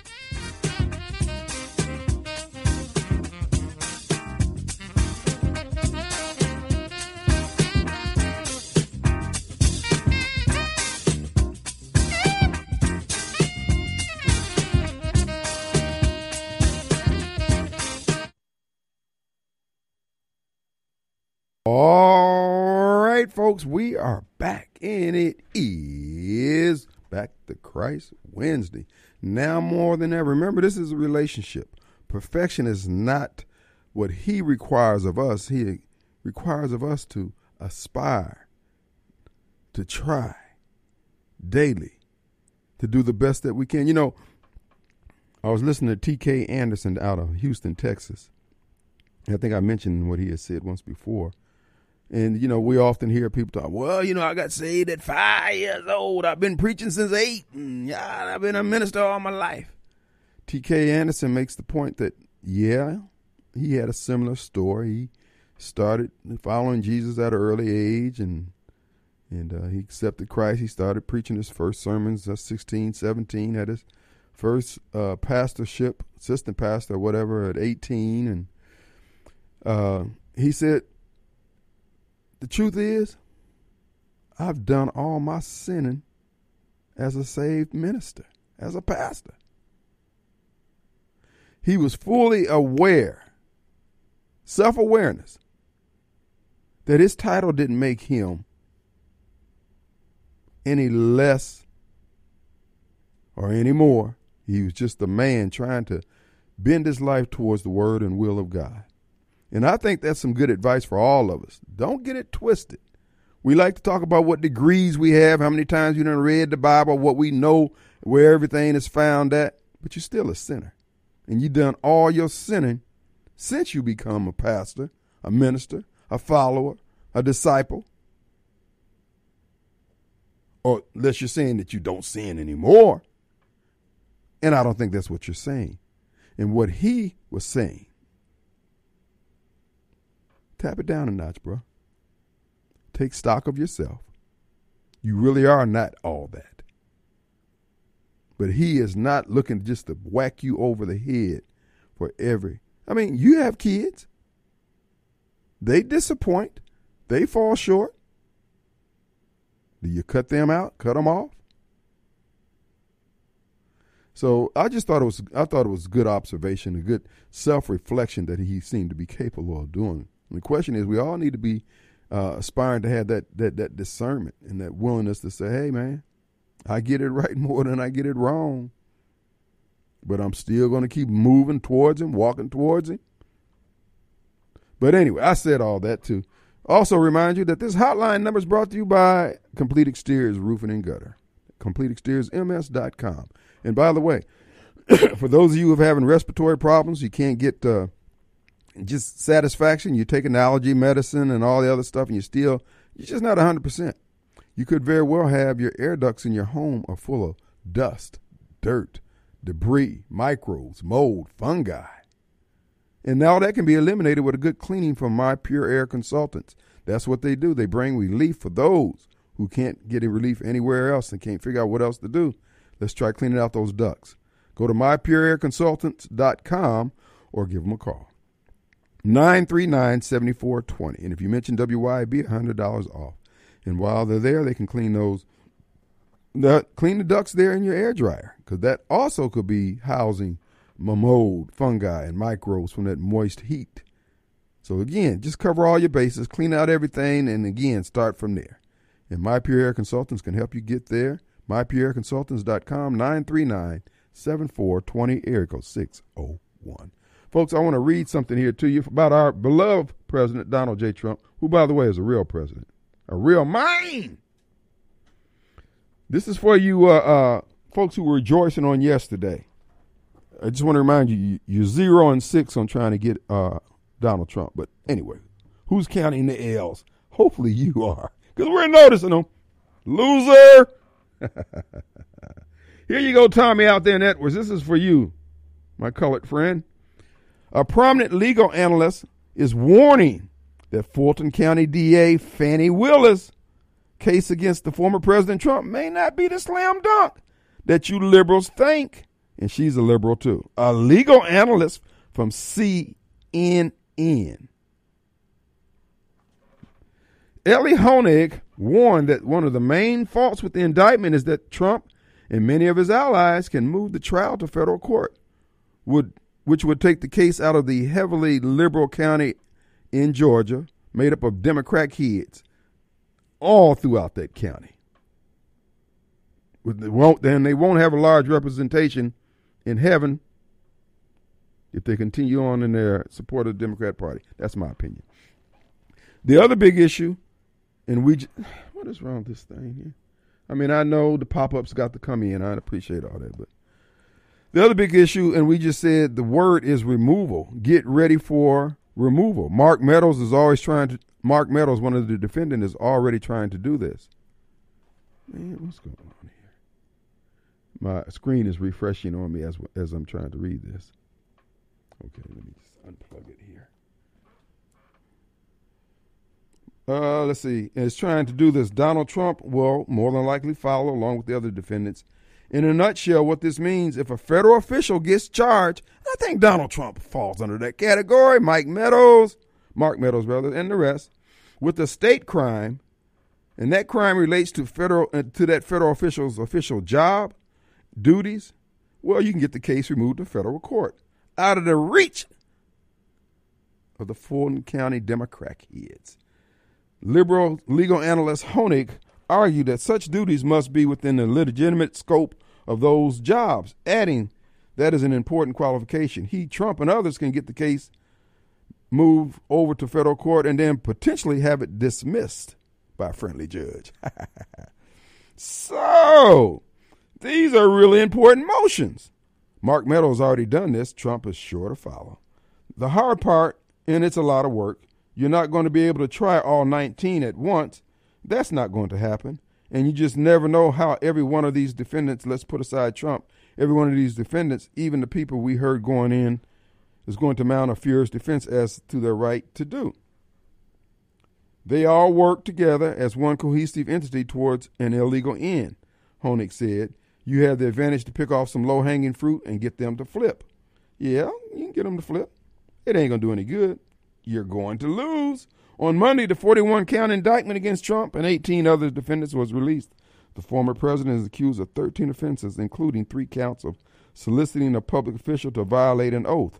All right, folks, we are back, and it is Back to Christ Wednesday. Now more than ever, remember, this is a relationship. Perfection is not what he requires of us. He requires of us to aspire, to try daily, to do the best that we can. You know, I was listening to T K Anderson out of Houston, Texas. I think I mentioned what he had said once before. And, you know, we often hear people talk, well, you know, I got saved at five years old. I've been preaching since eight. And, yeah, I've been a minister all my life. T K Anderson makes the point that, yeah, he had a similar story. He started following Jesus at an early age, and and uh, he accepted Christ. He started preaching his first sermons at sixteen, seventeen, had his first uh, pastorship, assistant pastor or whatever, at eighteen. And uh, he said, the truth is, I've done all my sinning as a saved minister, as a pastor. He was fully aware, self-awareness, that his title didn't make him any less or any more. He was just a man trying to bend his life towards the word and will of God. And I think that's some good advice for all of us. Don't get it twisted. We like to talk about what degrees we have, how many times you done read the Bible, what we know, where everything is found at. But you're still a sinner. And you done all your sinning since you become a pastor, a minister, a follower, a disciple. Or unless you're saying that you don't sin anymore. And I don't think that's what you're saying. And what he was saying, tap it down a notch, bro. Take stock of yourself. You really are not all that. But he is not looking just to whack you over the head for every. I mean, you have kids. They disappoint. They fall short. Do you cut them out? Cut them off? So I just thought it was. I thought it was good observation, a good self-reflection that he seemed to be capable of doing. And the question is, we all need to be uh, aspiring to have that that that discernment and that willingness to say, "Hey, man, I get it right more than I get it wrong, but I'm still going to keep moving towards him, walking towards him." But anyway, I said all that to also remind you that this hotline number is brought to you by Complete Exteriors Roofing and Gutter, complete exteriors m s dot com. And by the way, for those of you who are having respiratory problems, you can't get uh, just satisfaction. You take an allergy medicine and all the other stuff, and you still, you're just not one hundred percent. You could very well have your air ducts in your home are full of dust, dirt, debris, microbes, mold, fungi. And now that can be eliminated with a good cleaning from My Pure Air Consultants. That's what they do. They bring relief for those who can't get a relief anywhere else and can't figure out what else to do. Let's try cleaning out those ducts. Go to my pure air consultants dot com or give them a call. nine three nine, seven four two zero. And if you mention W Y B, one hundred dollars off. And while they're there, they can clean those, the, clean the ducts there in your air dryer, because that also could be housing mold, fungi, and microbes from that moist heat. So again, just cover all your bases, clean out everything, and again, start from there. And My Pure Air Consultants can help you get there. my pure air consultants dot com, nine three nine, seven four two zero, area code six oh one. Folks, I want to read something here to you about our beloved President Donald J. Trump, who, by the way, is a real president. A real mine. This is for you uh, uh, folks who were rejoicing on yesterday. I just want to remind you, you're zero and six on trying to get uh, Donald Trump. But anyway, who's counting the L's? Hopefully you are, because we're noticing them. Loser. Here you go, Tommy out there in Edwards. This is for you, my colored friend. A prominent legal analyst is warning that Fulton County D A Fannie Willis' case against the former President Trump may not be the slam dunk that you liberals think. And she's a liberal, too. A legal analyst from C N N. Ellie Honig warned that one of the main faults with the indictment is that Trump and many of his allies can move the trial to federal court, would which would take the case out of the heavily liberal county in Georgia, made up of Democrat kids, all throughout that county. They won't, then they won't have a large representation in heaven if they continue on in their support of the Democrat Party. That's my opinion. The other big issue, and we, what is wrong with this thing here? I mean, I know the pop-ups got to come in. I appreciate all that, but the other big issue, and we just said the word is removal. Get ready for removal. Mark Meadows is always trying to, Mark Meadows, one of the defendants, is already trying to do this. Man, what's going on here? My screen is refreshing on me as as I'm trying to read this. Okay, let me just unplug it here. Uh, let's see. It's trying to do this. Donald Trump will more than likely follow along with the other defendants. In a nutshell, what this means, if a federal official gets charged, I think Donald Trump falls under that category, Mike Meadows, Mark Meadows, rather, and the rest, with a state crime, and that crime relates to federal uh, to that federal official's official job, duties, well, you can get the case removed to federal court, out of the reach of the Fulton County Democrat heads. Liberal legal analyst Honig argued that such duties must be within the legitimate scope of those jobs, adding that is an important qualification. He, Trump, and others can get the case moved over to federal court and then potentially have it dismissed by a friendly judge. So, these are really important motions. Mark Meadows already done this. Trump is sure to follow. The hard part, and it's a lot of work, you're not going to be able to try all nineteen at once. That's not going to happen. And you just never know how every one of these defendants, let's put aside Trump, every one of these defendants, even the people we heard going in, is going to mount a furious defense as to their right to do. They all work together as one cohesive entity towards an illegal end, Honig said. You have the advantage to pick off some low-hanging fruit and get them to flip. Yeah, you can get them to flip. It ain't going to do any good. You're going to lose. On Monday, the forty-one count indictment against Trump and eighteen other defendants was released. The former president is accused of thirteen offenses, including three counts of soliciting a public official to violate an oath.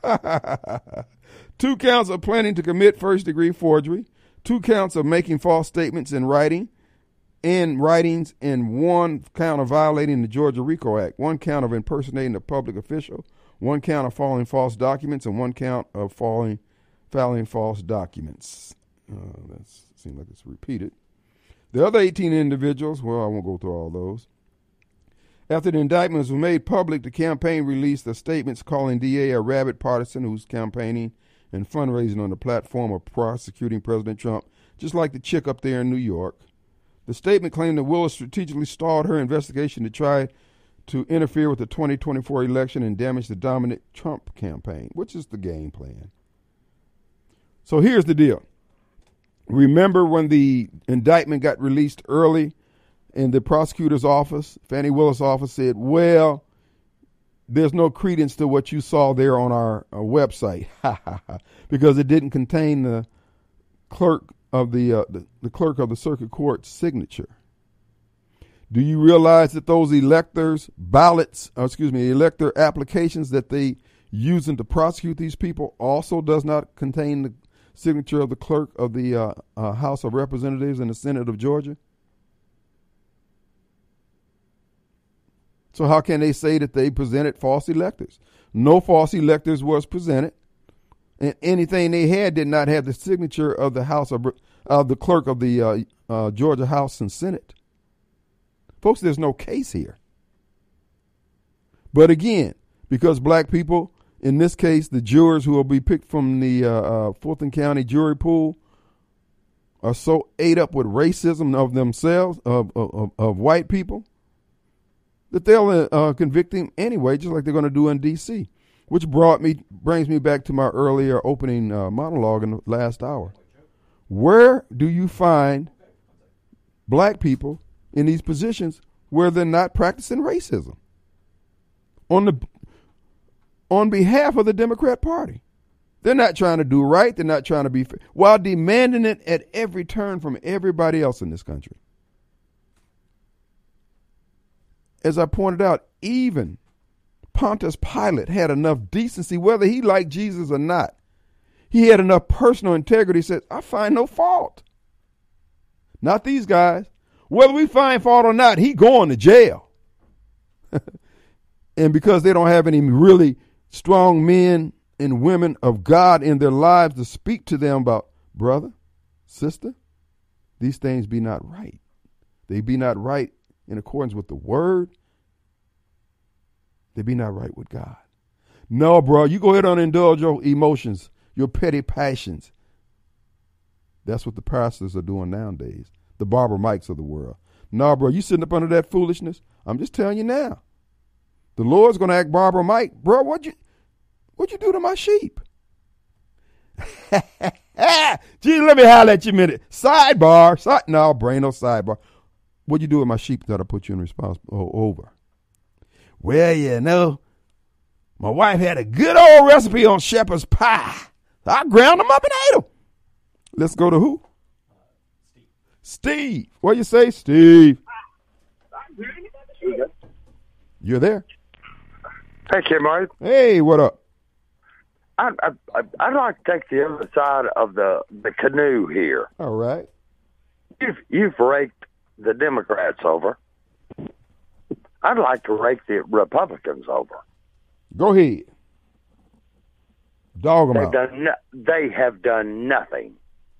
Two counts of planning to commit first-degree forgery, two counts of making false statements in writing, in writings, and one count of violating the Georgia RICO Act, one count of impersonating a public official, one count of filing false documents, and one count of filing, filing false documents. Uh, that seems like it's repeated. The other eighteen individuals, well, I won't go through all those. After the indictments were made public, the campaign released the statements calling D A a rabid partisan who's campaigning and fundraising on the platform of prosecuting President Trump, just like the chick up there in New York. The statement claimed that Willis strategically stalled her investigation to try to interfere with the twenty twenty-four election and damage the dominant Trump campaign, which is the game plan. So here's the deal. Remember when the indictment got released early and the prosecutor's office, Fannie Willis' office, said, well, there's no credence to what you saw there on our, our website because it didn't contain the clerk of the, uh, the the clerk of the circuit court's signature. Do you realize that those electors' ballots, or excuse me, elector applications that they using to prosecute these people also does not contain the signature of the clerk of the uh, uh, House of Representatives and the Senate of Georgia? So how can they say that they presented false electors? No false electors was presented, and anything they had did not have the signature of the House of uh, the clerk of the uh, uh, Georgia House and Senate. Folks, there's no case here. But again, because black people, in this case, the jurors who will be picked from the uh, uh, Fulton County jury pool, are so ate up with racism of themselves, of, of, of white people, that they'll uh, convict him anyway, just like they're going to do in D C, which brought me brings me back to my earlier opening uh, monologue in the last hour. Where do you find black people in these positions where they're not practicing racism on the on behalf of the Democrat Party? They're not trying to do right. They're not trying to be fair, while demanding it at every turn from everybody else in this country. As I pointed out, even Pontius Pilate had enough decency, whether he liked Jesus or not. He had enough personal integrity. He said, I find no fault. Not these guys. Whether we find fault or not, he going to jail. And because they don't have any really strong men and women of God in their lives to speak to them about, brother, sister, these things be not right. They be not right in accordance with the word. They be not right with God. No, bro, you go ahead and indulge your emotions, your petty passions. That's what the pastors are doing nowadays, the Barbara Mikes of the world. No, bro, you sitting up under that foolishness? I'm just telling you now. The Lord's going to act Barbara Mike. Bro, what'd you, what'd you do to my sheep? Gee, let me holler at you a minute. Sidebar. Side, no, brain no sidebar. What'd you do with my sheep that I put you in response oh, over? Well, you know, my wife had a good old recipe on shepherd's pie. I ground them up and ate them. Let's go to who? Uh, Steve. Steve. What you say, Steve? You're there. Hey, Kim, Mike. Hey, what up? I, I, I'd like to take the other side of the, the canoe here. All right. You've, you've raked the Democrats over. I'd like to rake the Republicans over. Go ahead. Dog them They've out. Done no, they have done nothing.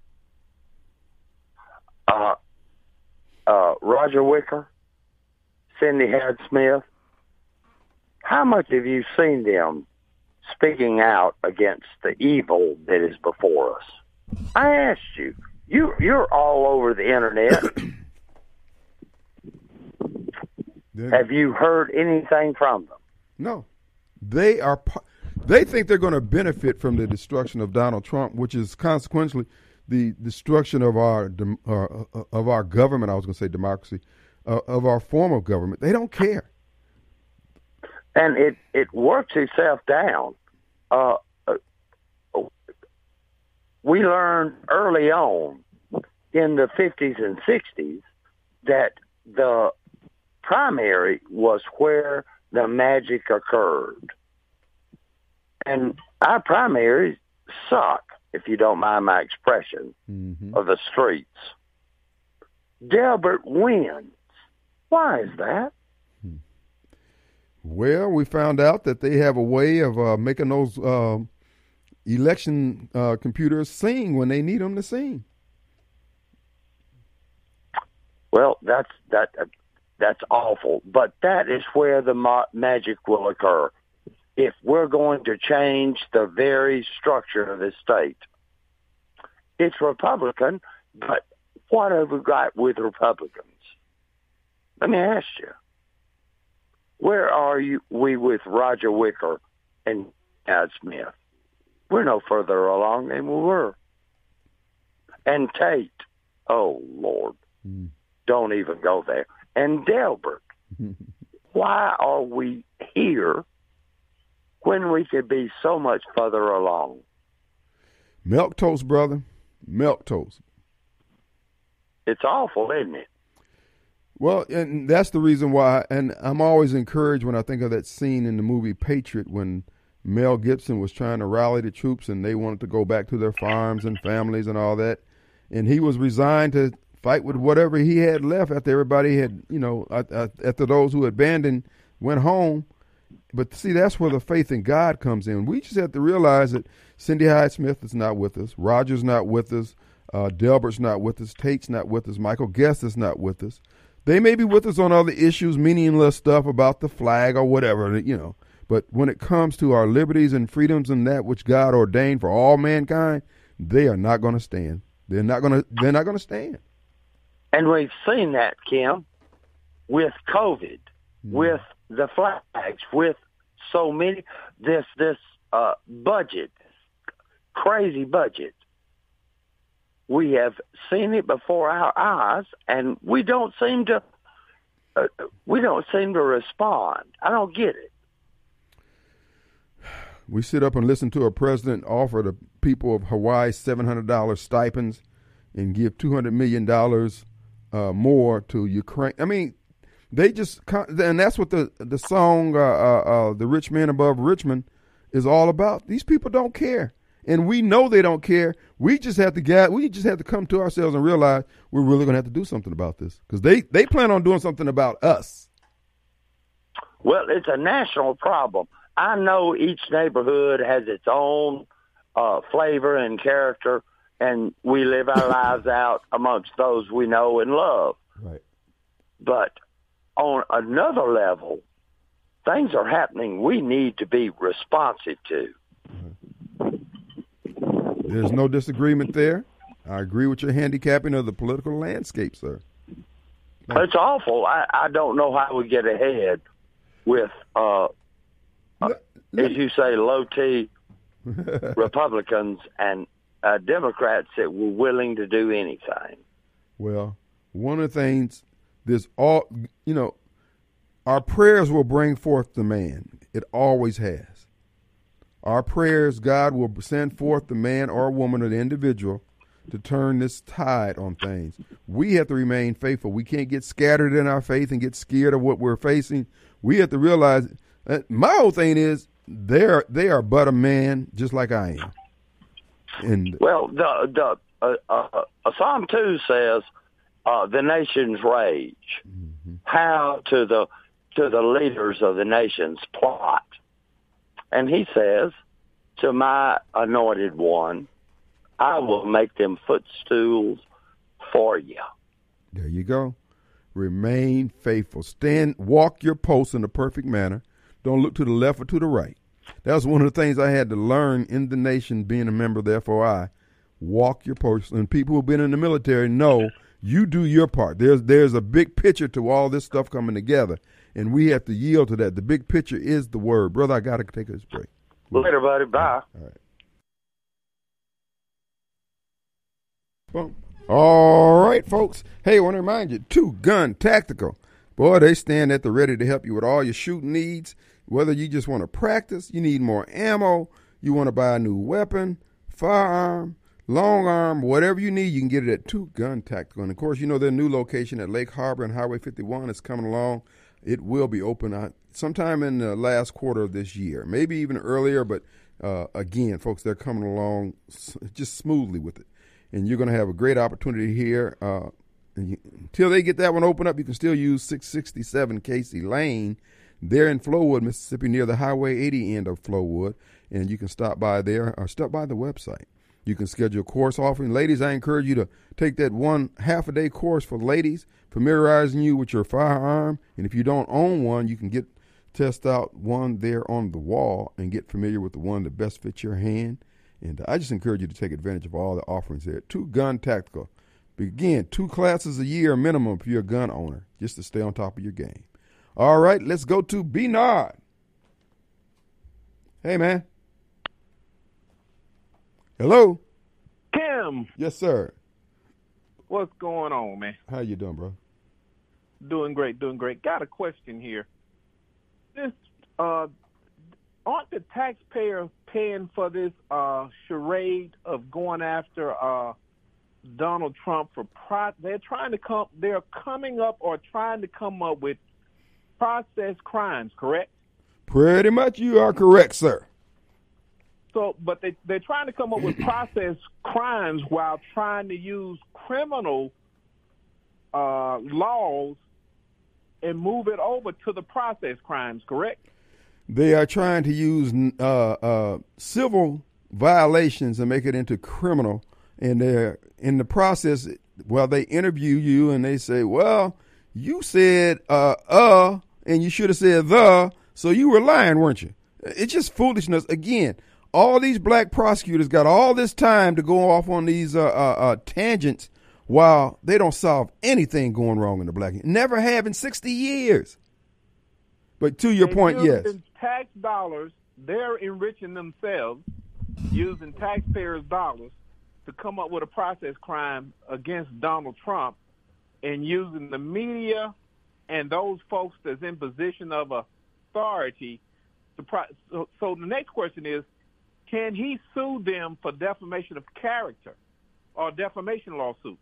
Uh, uh, Roger Wicker, Cindy Howard Smith, how much have you seen them speaking out against the evil that is before us? I asked you. You you're all over the internet. Have you heard anything from them? No. They are. They think they're going to benefit from the destruction of Donald Trump, which is consequently the destruction of our uh, of our government. I was going to say democracy, uh, of our form of government. They don't care. And it, it works itself down. Uh, uh, we learned early on in the fifties and sixties that the primary was where the magic occurred. And our primaries suck, if you don't mind my expression, mm-hmm. of the streets. Delbert wins. Why is that? Well, we found out that they have a way of uh, making those uh, election uh, computers sing when they need them to sing. Well, that's that. Uh, that's awful. But that is where the ma- magic will occur. If we're going to change the very structure of the state, it's Republican. But what have we got with Republicans? Let me ask you. Where are you, we with Roger Wicker and Howard Smith? We're no further along than we were. And Tate, oh, Lord, mm. don't even go there. And Delbert, why are we here when we could be so much further along? Milk toast, brother. Milk toast. It's awful, isn't it? Well, and that's the reason why, and I'm always encouraged when I think of that scene in the movie Patriot when Mel Gibson was trying to rally the troops and they wanted to go back to their farms and families and all that. And he was resigned to fight with whatever he had left after everybody had, you know, after those who abandoned went home. But see, that's where the faith in God comes in. We just have to realize that Cindy Hyde Smith is not with us. Roger's not with us. Uh, Delbert's not with us. Tate's not with us. Michael Guest is not with us. They may be with us on other issues, meaningless stuff about the flag or whatever, you know. But when it comes to our liberties and freedoms and that which God ordained for all mankind, they are not going to stand. They're not going to. They're not going to stand. And we've seen that, Kim, with COVID, mm. with the flags, with so many this this uh, budget, crazy budget. We have seen it before our eyes, and we don't seem to uh, we don't seem to respond. I don't get it. We sit up and listen to a president offer the people of Hawaii seven hundred dollars stipends and give two hundred million dollars uh, more to Ukraine. I mean, they just, and that's what the the song uh, uh, uh, "The Rich Man Above Richmond" is all about. These people don't care, and we know they don't care. We just have to get, we just have to come to ourselves and realize we're really going to have to do something about this, because they they plan on doing something about us. Well, it's a national problem. I know each neighborhood has its own uh, flavor and character, and we live our lives out amongst those we know and love. Right. But on another level, things are happening we need to be responsive to. There's no disagreement there. I agree with your handicapping of the political landscape, sir. It's awful. I, I don't know how we get ahead with, uh, uh, as you say, low T Republicans and uh, Democrats that were willing to do anything. Well, one of the things, there's all, you know, our prayers will bring forth the man. It always has. Our prayers, God will send forth the man or woman or the individual to turn this tide on things. We have to remain faithful. We can't get scattered in our faith and get scared of what we're facing. We have to realize that my whole thing is they're, they are but a man just like I am. And well, the the uh, uh, Psalm two says uh, the nations rage. Mm-hmm. How to the to the leaders of the nations plot. And he says, to my anointed one, I will make them footstools for you. There you go. Remain faithful. Stand, walk your post in a perfect manner. Don't look to the left or to the right. That was one of the things I had to learn in the nation, being a member of the F O I. Walk your post. And people who've been in the military know you do your part. There's there's a big picture to all this stuff coming together, and we have to yield to that. The big picture is the word. Brother, I got to take this break. Later, buddy. Bye. All right. Well, all right, folks. Hey, I want to remind you, Two Gun Tactical. Boy, they stand at the ready to help you with all your shooting needs. Whether you just want to practice, you need more ammo, you want to buy a new weapon, firearm, long arm, whatever you need, you can get it at Two Gun Tactical. And, of course, you know their new location at Lake Harbor and Highway fifty-one is coming along. It will be open uh, sometime in the last quarter of this year, maybe even earlier. But, uh, again, folks, they're coming along just smoothly with it. And you're going to have a great opportunity here. Uh, and you, until they get that one open up, you can still use six sixty-seven Casey Lane. They're in Flowood, Mississippi, near the Highway eighty end of Flowood. And you can stop by there or stop by the website. You can schedule a course offering. Ladies, I encourage you to take that one half-a-day course for ladies, familiarizing you with your firearm. And if you don't own one, you can get test out one there on the wall and get familiar with the one that best fits your hand. And I just encourage you to take advantage of all the offerings there. Two Gun Tactical. Again, two classes a year minimum for your gun owner, just to stay on top of your game. All right, let's go to Bernard. Hey, man. Hello. Kim. Yes, sir. What's going on, man? How you doing, bro? Doing great, doing great. Got a question here. This, uh, aren't the taxpayers paying for this uh, charade of going after uh, Donald Trump for pro- they're trying to come they're coming up or trying to come up with processed crimes, correct? Pretty much you are correct, sir. So, but they, they're trying to come up with processed crimes while trying to use criminal uh, laws and move it over to the processed crimes, correct? They are trying to use uh, uh, civil violations and make it into criminal and they're in the process, well, they interview you and they say, well, you said uh, uh, and you should have said the, so you were lying, weren't you? It's just foolishness. Again, all these black prosecutors got all this time to go off on these uh, uh, uh, tangents while they don't solve anything going wrong in the black. Never have in sixty years. But to your They point, yes. using tax dollars, they're enriching themselves using taxpayers' dollars to come up with a process crime against Donald Trump and using the media and those folks that's in position of authority to pro- so, so the next question is, can he sue them for defamation of character or defamation lawsuits?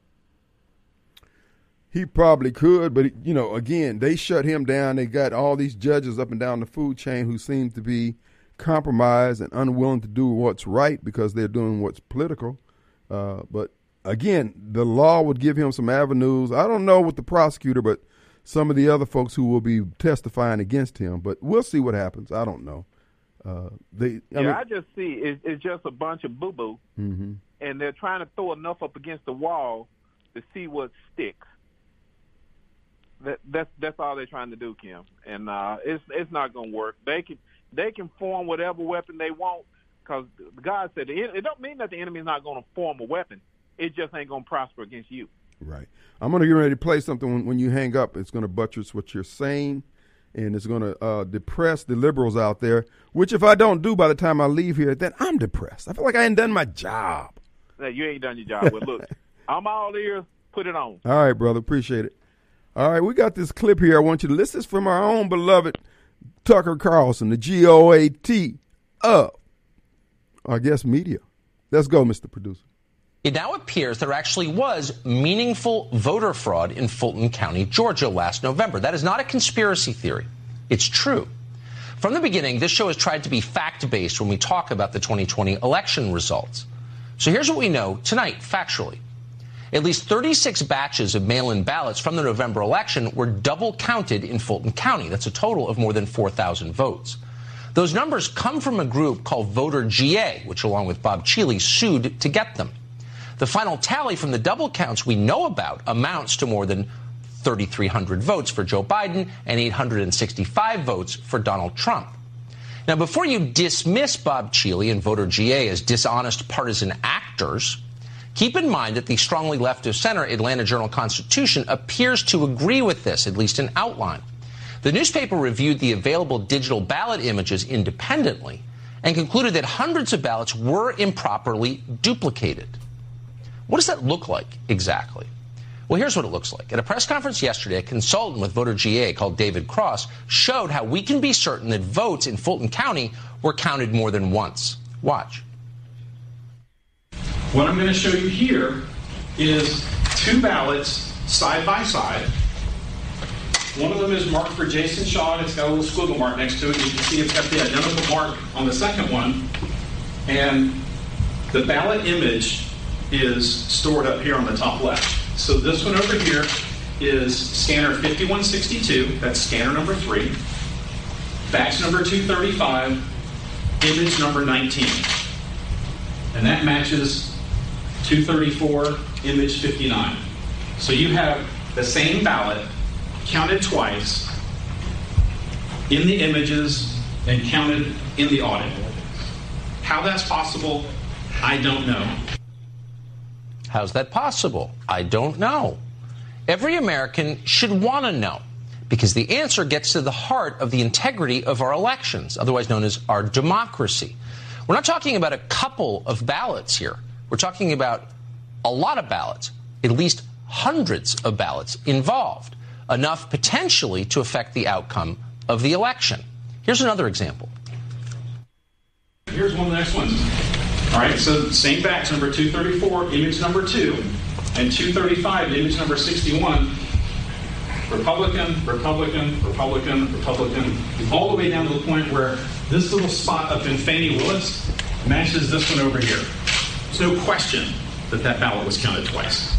He probably could, but, you know, again, they shut him down. They got all these judges up and down the food chain who seem to be compromised and unwilling to do what's right because they're doing what's political. Uh, but, again, the law would give him some avenues. I don't know with the prosecutor, but some of the other folks who will be testifying against him. But we'll see what happens. I don't know. Uh, they, I yeah, mean, I just see it, it's just a bunch of boo-boo, mm-hmm. and they're trying to throw enough up against the wall to see what sticks. That, that's that's all they're trying to do, Kim, and uh, it's it's not going to work. They can they can form whatever weapon they want because God said it, it don't mean that the enemy is not going to form a weapon. It just ain't going to prosper against you. Right. I'm going to get ready to play something when, when you hang up. It's going to buttress what you're saying, and it's going to uh, depress the liberals out there, which if I don't do by the time I leave here, then I'm depressed. I feel like I ain't done my job. Hey, you ain't done your job. Well, look, I'm all ears. Put it on. All right, brother. Appreciate it. All right, we got this clip here. I want you to listen. This is from our own beloved Tucker Carlson, the G O A T of, I guess, media. Let's go, Mister Producer. It now appears there actually was meaningful voter fraud in Fulton County, Georgia last November. That is not a conspiracy theory. It's true. From the beginning, this show has tried to be fact-based when we talk about the twenty twenty election results. So here's what we know tonight, factually. At least thirty-six batches of mail-in ballots from the November election were double counted in Fulton County. That's a total of more than four thousand votes. Those numbers come from a group called Voter G A, which along with Bob Cheeley sued to get them. The final tally from the double counts we know about amounts to more than thirty-three hundred votes for Joe Biden and eight hundred sixty-five votes for Donald Trump. Now, before you dismiss Bob Cheeley and Voter G A as dishonest partisan actors, keep in mind that the strongly left-of-center Atlanta Journal-Constitution appears to agree with this, at least in outline. The newspaper reviewed the available digital ballot images independently and concluded that hundreds of ballots were improperly duplicated. What does that look like exactly? Well, here's what it looks like. At a press conference yesterday, a consultant with Voter G A called David Cross showed how we can be certain that votes in Fulton County were counted more than once. Watch. What I'm going to show you here is two ballots side by side. One of them is marked for Jason Shaw, and it's got a little squiggle mark next to it. You can see it's got the identical mark on the second one. And the ballot image is stored up here on the top left. So this one over here is scanner fifty-one sixty-two. That's scanner number three. Batch number two thirty-five, image number nineteen. And that matches two thirty-four, image fifty-nine. So you have the same ballot counted twice in the images and counted in the audit. How that's possible, I don't know. How's that possible? I don't know. Every American should want to know, because the answer gets to the heart of the integrity of our elections, otherwise known as our democracy. We're not talking about a couple of ballots here. We're talking about a lot of ballots, at least hundreds of ballots involved, enough potentially to affect the outcome of the election. Here's another example. Here's one of the next ones. All right, so same batch, number two thirty-four, image number two, and two thirty-five, image number sixty-one. Republican, Republican, Republican, Republican, all the way down to the point where this little spot up in Fannie Willis matches this one over here. There's no question that that ballot was counted twice.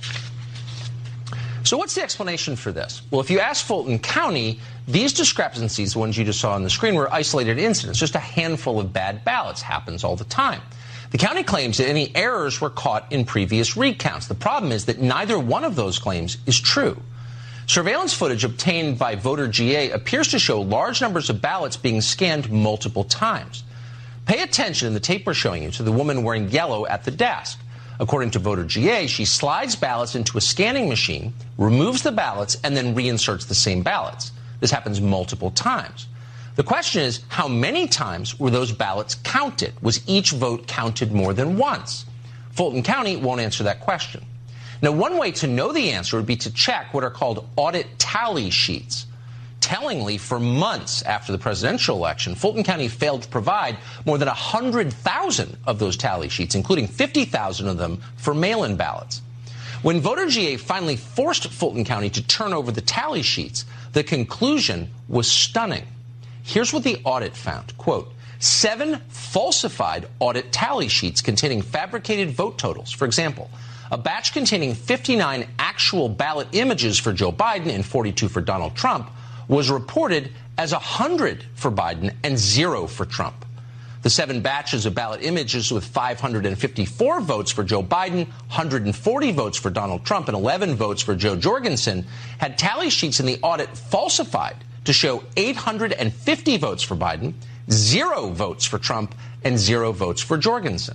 So what's the explanation for this? Well, if you ask Fulton County, these discrepancies, the ones you just saw on the screen, were isolated incidents. Just a handful of bad ballots. Happens all the time. The county claims that any errors were caught in previous recounts. The problem is that neither one of those claims is true. Surveillance footage obtained by Voter G A appears to show large numbers of ballots being scanned multiple times. Pay attention in the tape we're showing you to the woman wearing yellow at the desk. According to Voter G A, she slides ballots into a scanning machine, removes the ballots, and then reinserts the same ballots. This happens multiple times. The question is, how many times were those ballots counted? Was each vote counted more than once? Fulton County won't answer that question. Now, one way to know the answer would be to check what are called audit tally sheets. Tellingly, for months after the presidential election, Fulton County failed to provide more than one hundred thousand of those tally sheets, including fifty thousand of them for mail-in ballots. When Voter G A finally forced Fulton County to turn over the tally sheets, the conclusion was stunning. Here's what the audit found. Quote, seven falsified audit tally sheets containing fabricated vote totals. For example, a batch containing fifty-nine actual ballot images for Joe Biden and forty-two for Donald Trump was reported as one hundred for Biden and zero for Trump. The seven batches of ballot images with five hundred fifty-four votes for Joe Biden, one hundred forty votes for Donald Trump, and eleven votes for Joe Jorgensen had tally sheets in the audit falsified to show eight hundred fifty votes for Biden, zero votes for Trump, and zero votes for Jorgensen.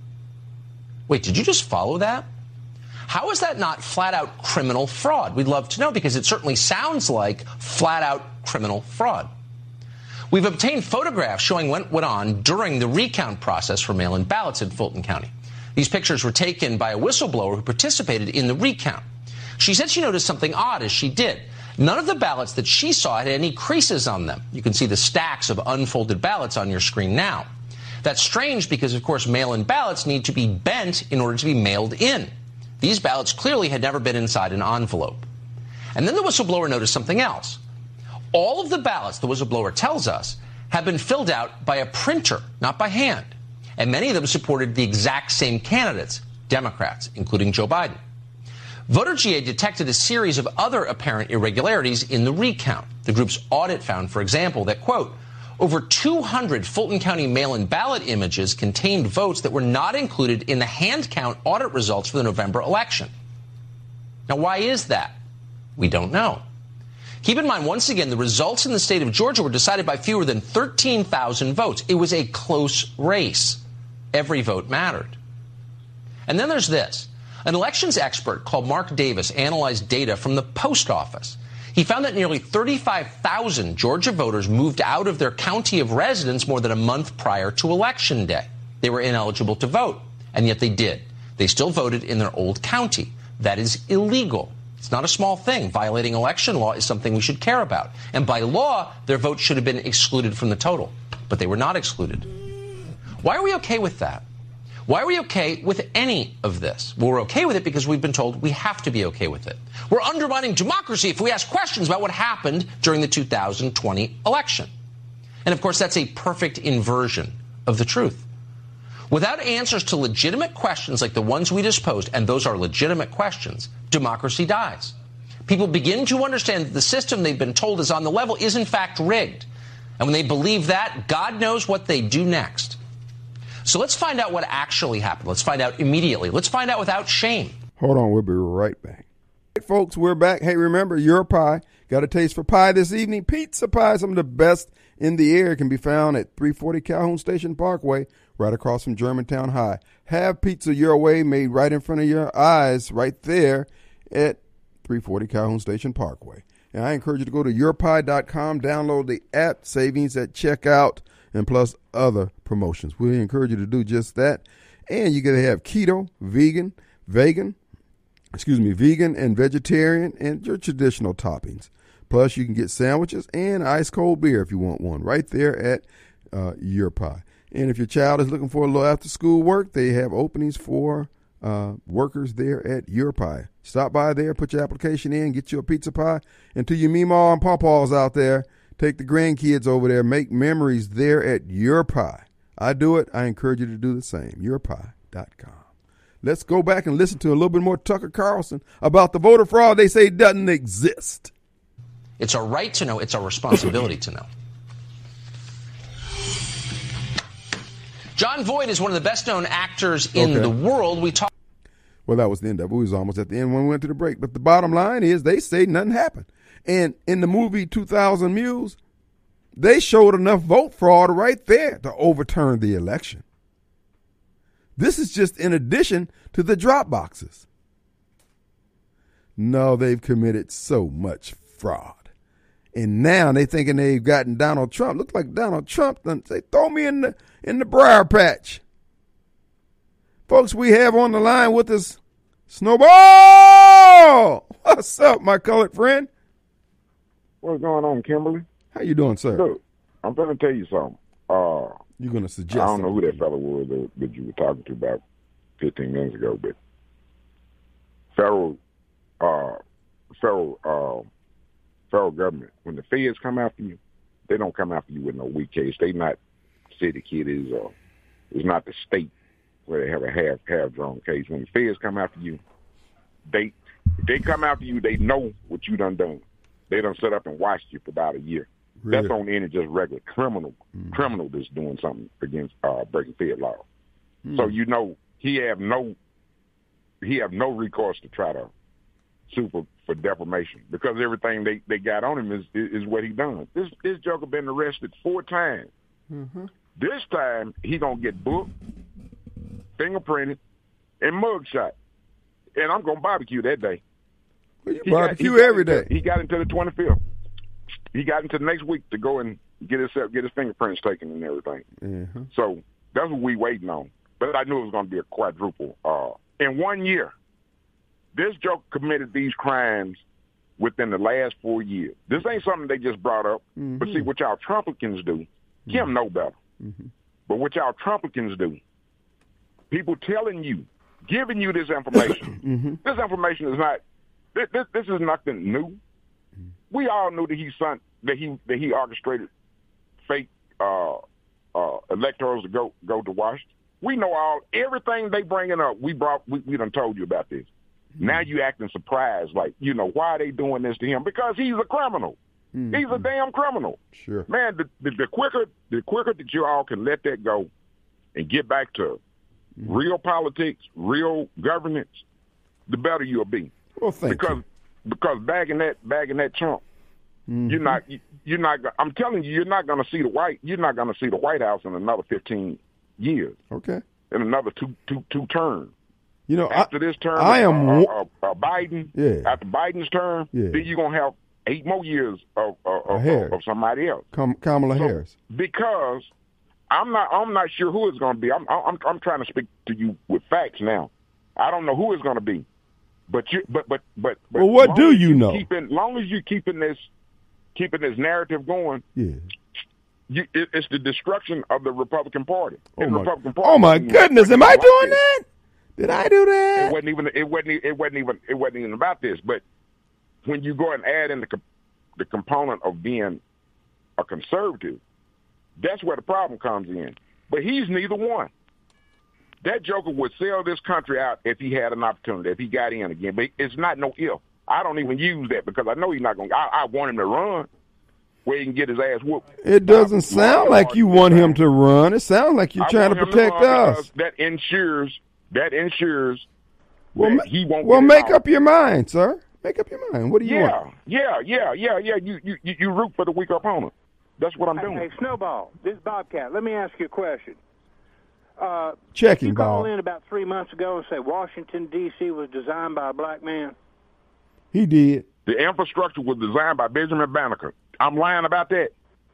Wait, did you just follow that? How is that not flat-out criminal fraud? We'd love to know, because it certainly sounds like flat-out criminal fraud. We've obtained photographs showing what went on during the recount process for mail-in ballots in Fulton County. These pictures were taken by a whistleblower who participated in the recount. She said she noticed something odd as she did. None of the ballots that she saw had any creases on them. You can see the stacks of unfolded ballots on your screen now. That's strange because, of course, mail-in ballots need to be bent in order to be mailed in. These ballots clearly had never been inside an envelope. And then the whistleblower noticed something else. All of the ballots, the whistleblower tells us, have been filled out by a printer, not by hand. And many of them supported the exact same candidates, Democrats, including Joe Biden. Voter G A detected a series of other apparent irregularities in the recount. The group's audit found, for example, that, quote, over two hundred Fulton County mail-in ballot images contained votes that were not included in the hand count audit results for the November election. Now, why is that? We don't know. Keep in mind, once again, the results in the state of Georgia were decided by fewer than thirteen thousand votes. It was a close race. Every vote mattered. And then there's this. An elections expert called Mark Davis analyzed data from the post office. He found that nearly thirty-five thousand Georgia voters moved out of their county of residence more than a month prior to Election Day. They were ineligible to vote, and yet they did. They still voted in their old county. That is illegal. It's not a small thing. Violating election law is something we should care about. And by law, their votes should have been excluded from the total. But they were not excluded. Why are we okay with that? Why are we okay with any of this? Well, we're okay with it because we've been told we have to be okay with it. We're undermining democracy if we ask questions about what happened during the two thousand twenty election. And of course, that's a perfect inversion of the truth. Without answers to legitimate questions like the ones we just posed, and those are legitimate questions, democracy dies. People begin to understand that the system they've been told is on the level is in fact rigged. And when they believe that, God knows what they do next. So let's find out what actually happened. Let's find out immediately. Let's find out without shame. Hold on, we'll be right back. Hey, folks, we're back. Hey, remember, your pie. Got a taste for pie this evening? Pizza pie, some of the best in the air, can be found at three forty Calhoun Station Parkway, right across from Germantown High. Have pizza your way, made right in front of your eyes, right there at three forty Calhoun Station Parkway. And I encourage you to go to your pie dot com, download the app, savings at checkout, and plus other promotions. We encourage you to do just that. And you're going to have keto, vegan, vegan, excuse me, vegan and vegetarian, and your traditional toppings. Plus, you can get sandwiches and ice cold beer if you want one right there at uh, Your Pie. And if your child is looking for a little after school work, they have openings for uh, workers there at Your Pie. Stop by there, put your application in, get you a pizza pie. And to your meemaw and pawpaws out there, take the grandkids over there, make memories there at Your Pie. I do it. I encourage you to do the same. your pie dot com. Let's go back and listen to a little bit more Tucker Carlson about the voter fraud they say doesn't exist. It's our right to know. It's our responsibility to know. John Voight is one of the best-known actors in Okay. the world. We talk. Well, that was the end of it. We was almost at the end when we went to the break. But the bottom line is they say nothing happened. And in the movie two thousand Mules, they showed enough vote fraud right there to overturn the election. This is just in addition to the drop boxes. No, they've committed so much fraud. And now they thinking they've gotten Donald Trump. Looks like Donald Trump done say, throw me in the in the briar patch. Folks, we have on the line with us Snowball. What's up, my colored friend? What's going on, Kimberly? How you doing, sir? Look, I'm going to tell you something. Uh, You're going to suggest I don't know who something. that fellow was that, that you were talking to about fifteen minutes ago, but federal, uh, federal, uh, federal government, when the feds come after you, they don't come after you with no weak case. They not city kiddies or it's not the state where they have a half half drawn case. When the feds come after you, they if they come after you, they know what you done done. They done set up and watched you for about a year. Really? That's on any just regular criminal Mm. criminal that's doing something against uh, breaking fed law. Mm. So you know he have no he have no recourse to try to sue for, for defamation because everything they, they got on him is is what he done. This this joker been arrested four times. Mm-hmm. This time he gonna get booked, fingerprinted, and mugshot. And I'm gonna barbecue that day. Well, you He got- barbecue he got every into- day. He got into the twenty-fifth. He got into the next week to go and get his get his fingerprints taken and everything. Mm-hmm. So that's what we waiting on. But I knew it was going to be a quadruple. Uh, in one year, this joke committed these crimes within the last four years. This ain't something they just brought up. Mm-hmm. But see, what y'all Trumplicans do, Kim know better. Mm-hmm. But what y'all Trumplicans do, people telling you, giving you this information. Mm-hmm. This information is not. This, this, this is nothing new. We all knew that he sent that he that he orchestrated fake uh, uh, electors to go go to Washington. We know all everything they bringing up. We brought we, we done told you about this. Mm-hmm. Now you acting surprised, like you know why are they doing this to him? Because he's a criminal. Mm-hmm. He's a damn criminal. Sure, man. The, the, the quicker the quicker that you all can let that go and get back to mm-hmm. real politics, real governance, the better you'll be. Well, thank because you. because bagging that bagging that chump. Mm-hmm. You're not. You're not. I'm telling you, you're not going to see the white. You're not going to see the White House in another fifteen years. Okay. In another two, two, two terms. You know, after I, this term, I am uh, uh, uh, Biden. Yeah. After Biden's term, yeah. then you're gonna have eight more years of of, of, Harris. of somebody else. Kam- Kamala so, Harris. Because I'm not. I'm not sure who it's going to be. I'm. I'm. I'm trying to speak to you with facts now. I don't know who it's going to be. But you. But but but. but well, what do you, you know? Keeping, long as you keeping this. Keeping this narrative going, yeah, you, it, it's the destruction of the Republican Party. Oh the my, Republican Party oh my goodness! Am I doing that? Did I do that? It wasn't even. It wasn't. It wasn't even. It wasn't even about this. But when you go and add in the the component of being a conservative, that's where the problem comes in. But he's neither one. That joker would sell this country out if he had an opportunity, if he got in again. But it's not no if. I don't even use that because I know he's not going to. I want him to run where he can get his ass whooped. It doesn't sound like you want him to run. It sounds like you're trying to protect us. That ensures, that ensures well, that ma- he won't Well, get make out. up your mind, sir. Make up your mind. What do you yeah, want? Yeah, yeah, yeah, yeah. You, you, you, you root for the weaker opponent. That's what I'm doing. Hey, Snowball, this is Bobcat. Let me ask you a question. Uh, Checking, you call Bob. in about three months ago and say Washington, D C was designed by a black man? He did. The infrastructure was designed by Benjamin Banneker. I'm lying about that.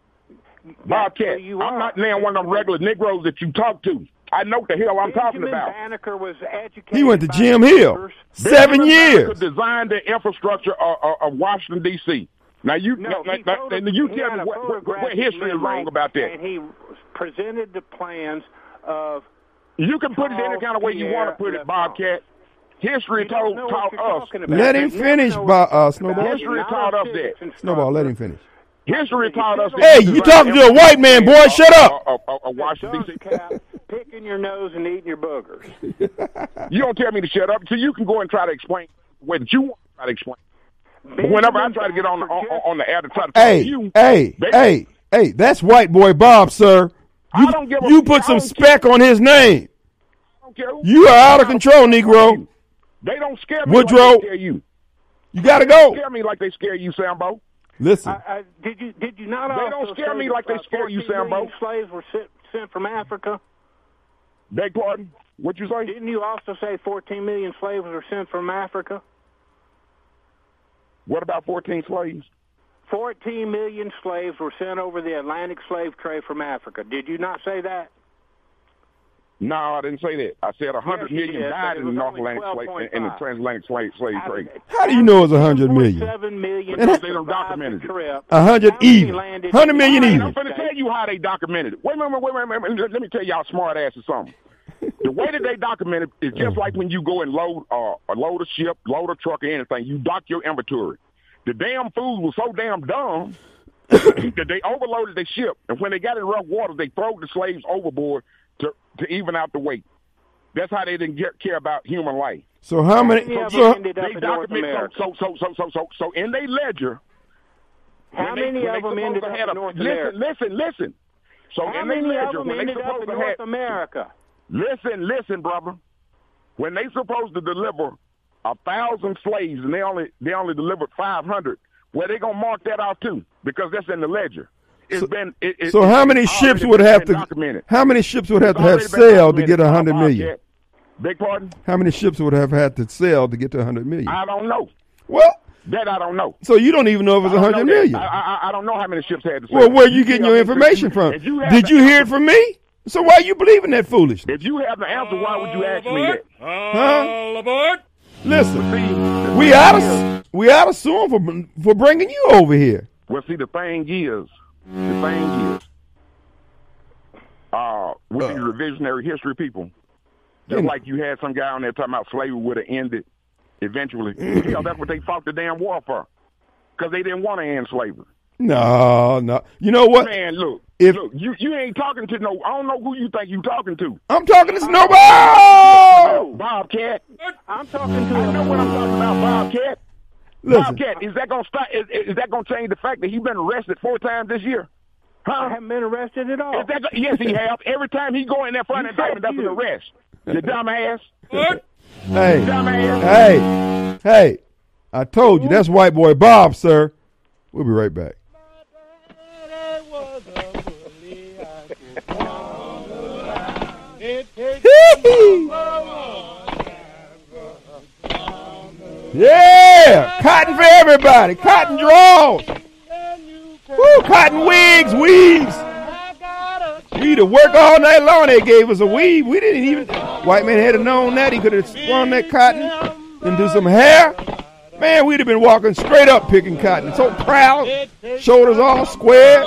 Bobcat, I'm not now one of them regular Negroes that you talk to. I know what the hell I'm Benjamin talking about. Banneker was educated He went to by Jim Hill. Seven Benjamin years. Banneker designed the infrastructure of, of, of Washington, D C Now you, No, now, he now, photo- now you he tell had me a what, what, what photographic history is wrong memory, about that. And he presented the plans of. You can put it any kind of way you want to put it, Bobcat. History told taught us. Let him finish, Bo- uh, Snowball. History taught us that. Snowball, let him finish. History taught us. Hey, you talking to a white man, boy? Shut up. A, a, a Washington, D C Picking your nose and eating your boogers. You don't tell me to shut up, so you can go and try to explain what you want to try to explain. But whenever I try to get on the, on, on the air to try to talk Hey, to you, hey, they, hey, hey, that's white boy Bob, sir. You, I don't give a, you put I some don't spec care. on his name. I don't care who- You are out of control, Negro. They don't scare me Woodrow, like they scare you. You got to They don't go. scare me like they scare you, Sambo. Listen. I, I, did you did you not? They also don't scare say me that, like they uh, scare you, fourteen million Sambo. Slaves were sent, sent from Africa. Beg pardon? What you say? Didn't you also say fourteen million slaves were sent from Africa? What about fourteen slaves? fourteen million slaves were sent over the Atlantic slave trade from Africa. Did you not say that? No, I didn't say that. I said one hundred Yes, you million did, died but it in the was North only Atlantic slave, twelve in the point five. transatlantic slave, slave trade. How do you know it's one hundred million? Seven million. Because they don't documented it. one hundred even. one hundred million I'm even. going to tell you how they documented it. Wait a minute, wait a minute, wait a minute. Let me tell y'all smart ass or something. The way that they document it is just like when you go and load uh, a load a ship, load a truck, or anything. You dock your inventory. The damn fools were so damn dumb that they overloaded their ship, and when they got in rough waters, they threw the slaves overboard to to even out the weight. That's how they didn't get, care about human life. So how many? How many of So, them ended up They in North document America? so so so so so so in their ledger. How when they- many when of they them supposed ended to up had in a- North listen, America? Listen, listen. So How in their many of ledger, them when they ended up supposed in to North have, America? listen, listen, brother. When they supposed to deliver a thousand slaves and they only they only delivered five hundred, well, they gonna mark that out too because that's in the ledger. It's So- been. It, it, so it's how many already ships been- would have been to? documented. How many ships would have It's to have already been sailed to documented get a by hundred million? Bobcat. Beg pardon? How many ships would have had to sail to get to a hundred million? I don't know. Well, That I don't know. so you don't even know if it's I a don't hundred know that. million. I, I, I don't know how many ships had to sail. Well, where you getting tell your me, information if from? if you have Did the you hear it answer- from me? So why you believing that foolishness? If you have the answer, why would you ask me that? Huh? Listen, we ought to we ought to sue him for for bringing you over here. Well, see, the thing is, the thing is, uh, with the revisionary history people, just Yeah. like you had some guy on there talking about slavery would have ended eventually. Hell, that's what they fought the damn war for, because they didn't want to end slavery. No, no. You know what? Man, look, If- look, you you ain't talking to no. I don't know who you think you talking to. I'm talking to Snowball. Bobcat. I'm talking to I know what I'm talking about, Bobcat. Listen, Bobcat, is that gonna stop? Is, is that gonna change the fact that he's been arrested four times this year? I Huh? haven't been arrested at all. Is that, yes, he have. Every time he go in there for an You indictment, that's said an you. arrest. You dumbass. hey, Dumbass. hey, hey! I told you that's white boy Bob, sir. We'll be right back. Yeah, cotton for everybody. Cotton draws. Woo, cotton wigs, weaves. We had to work all night long. They gave us a weave. We didn't even. White man had have known that. He could have spun that cotton and do some hair. Man, we'd have been walking straight up picking cotton. So proud, shoulders all square.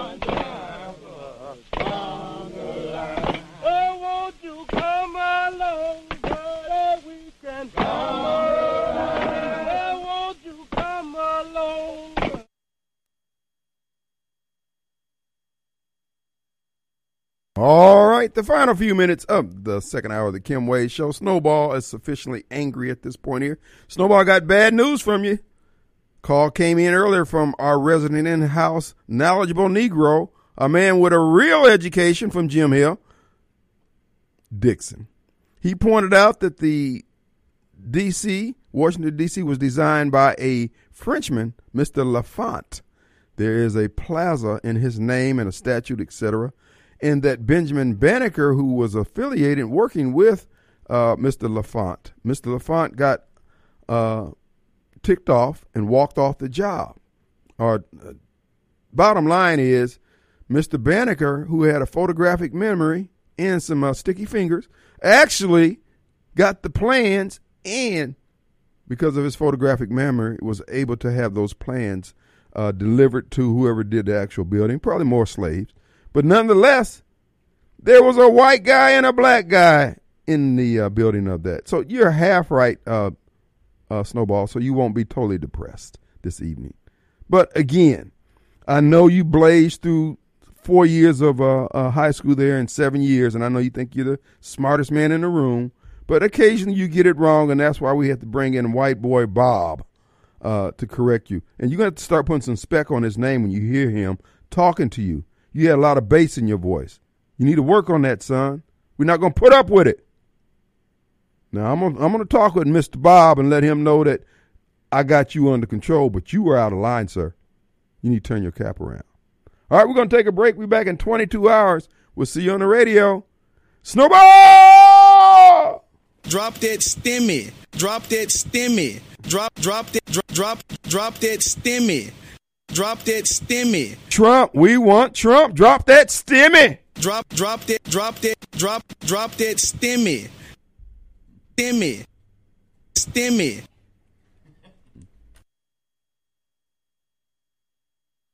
All right, the final few minutes of the second hour of the Kim Wade Show. Snowball is sufficiently angry at this point here. Snowball got bad news from you. Call came in earlier from our resident in-house knowledgeable Negro, a man with a real education from Jim Hill, Dixon. He pointed out that the D C, Washington, D C was designed by a Frenchman, Mister Lafont. There is a plaza in his name and a statue, et cetera, and that Benjamin Banneker, who was affiliated working with uh, Mister Lafont, Mister Lafont got uh, ticked off and walked off the job. Or uh, bottom line is, Mister Banneker, who had a photographic memory and some uh, sticky fingers, actually got the plans, and because of his photographic memory, was able to have those plans uh, delivered to whoever did the actual building, probably more slaves. But nonetheless, there was a white guy and a black guy in the uh, building of that. So you're half right, uh, uh, Snowball, so you won't be totally depressed this evening. But again, I know you blazed through four years of uh, uh, high school there and seven years, and I know you think you're the smartest man in the room, but occasionally you get it wrong, and that's why we have to bring in white boy Bob uh, to correct you. And you're going to have to start putting some spec on his name when you hear him talking to you. You had a lot of bass in your voice. You need to work on that, son. We're not going to put up with it. Now, I'm gonna, I'm going to talk with Mister Bob and let him know that I got you under control, but you were out of line, sir. You need to turn your cap around. All right, we're going to take a break. We'll be back in twenty-two hours. We'll see you on the radio. Snowball! Drop that stimmy. Drop that stimmy. Drop, drop that, drop, drop, drop that stimmy. Drop that stimmy. Trump, we want Trump. Drop that stimmy. Drop, drop that, drop that, drop, drop that stimmy. Stimmy. Stimmy.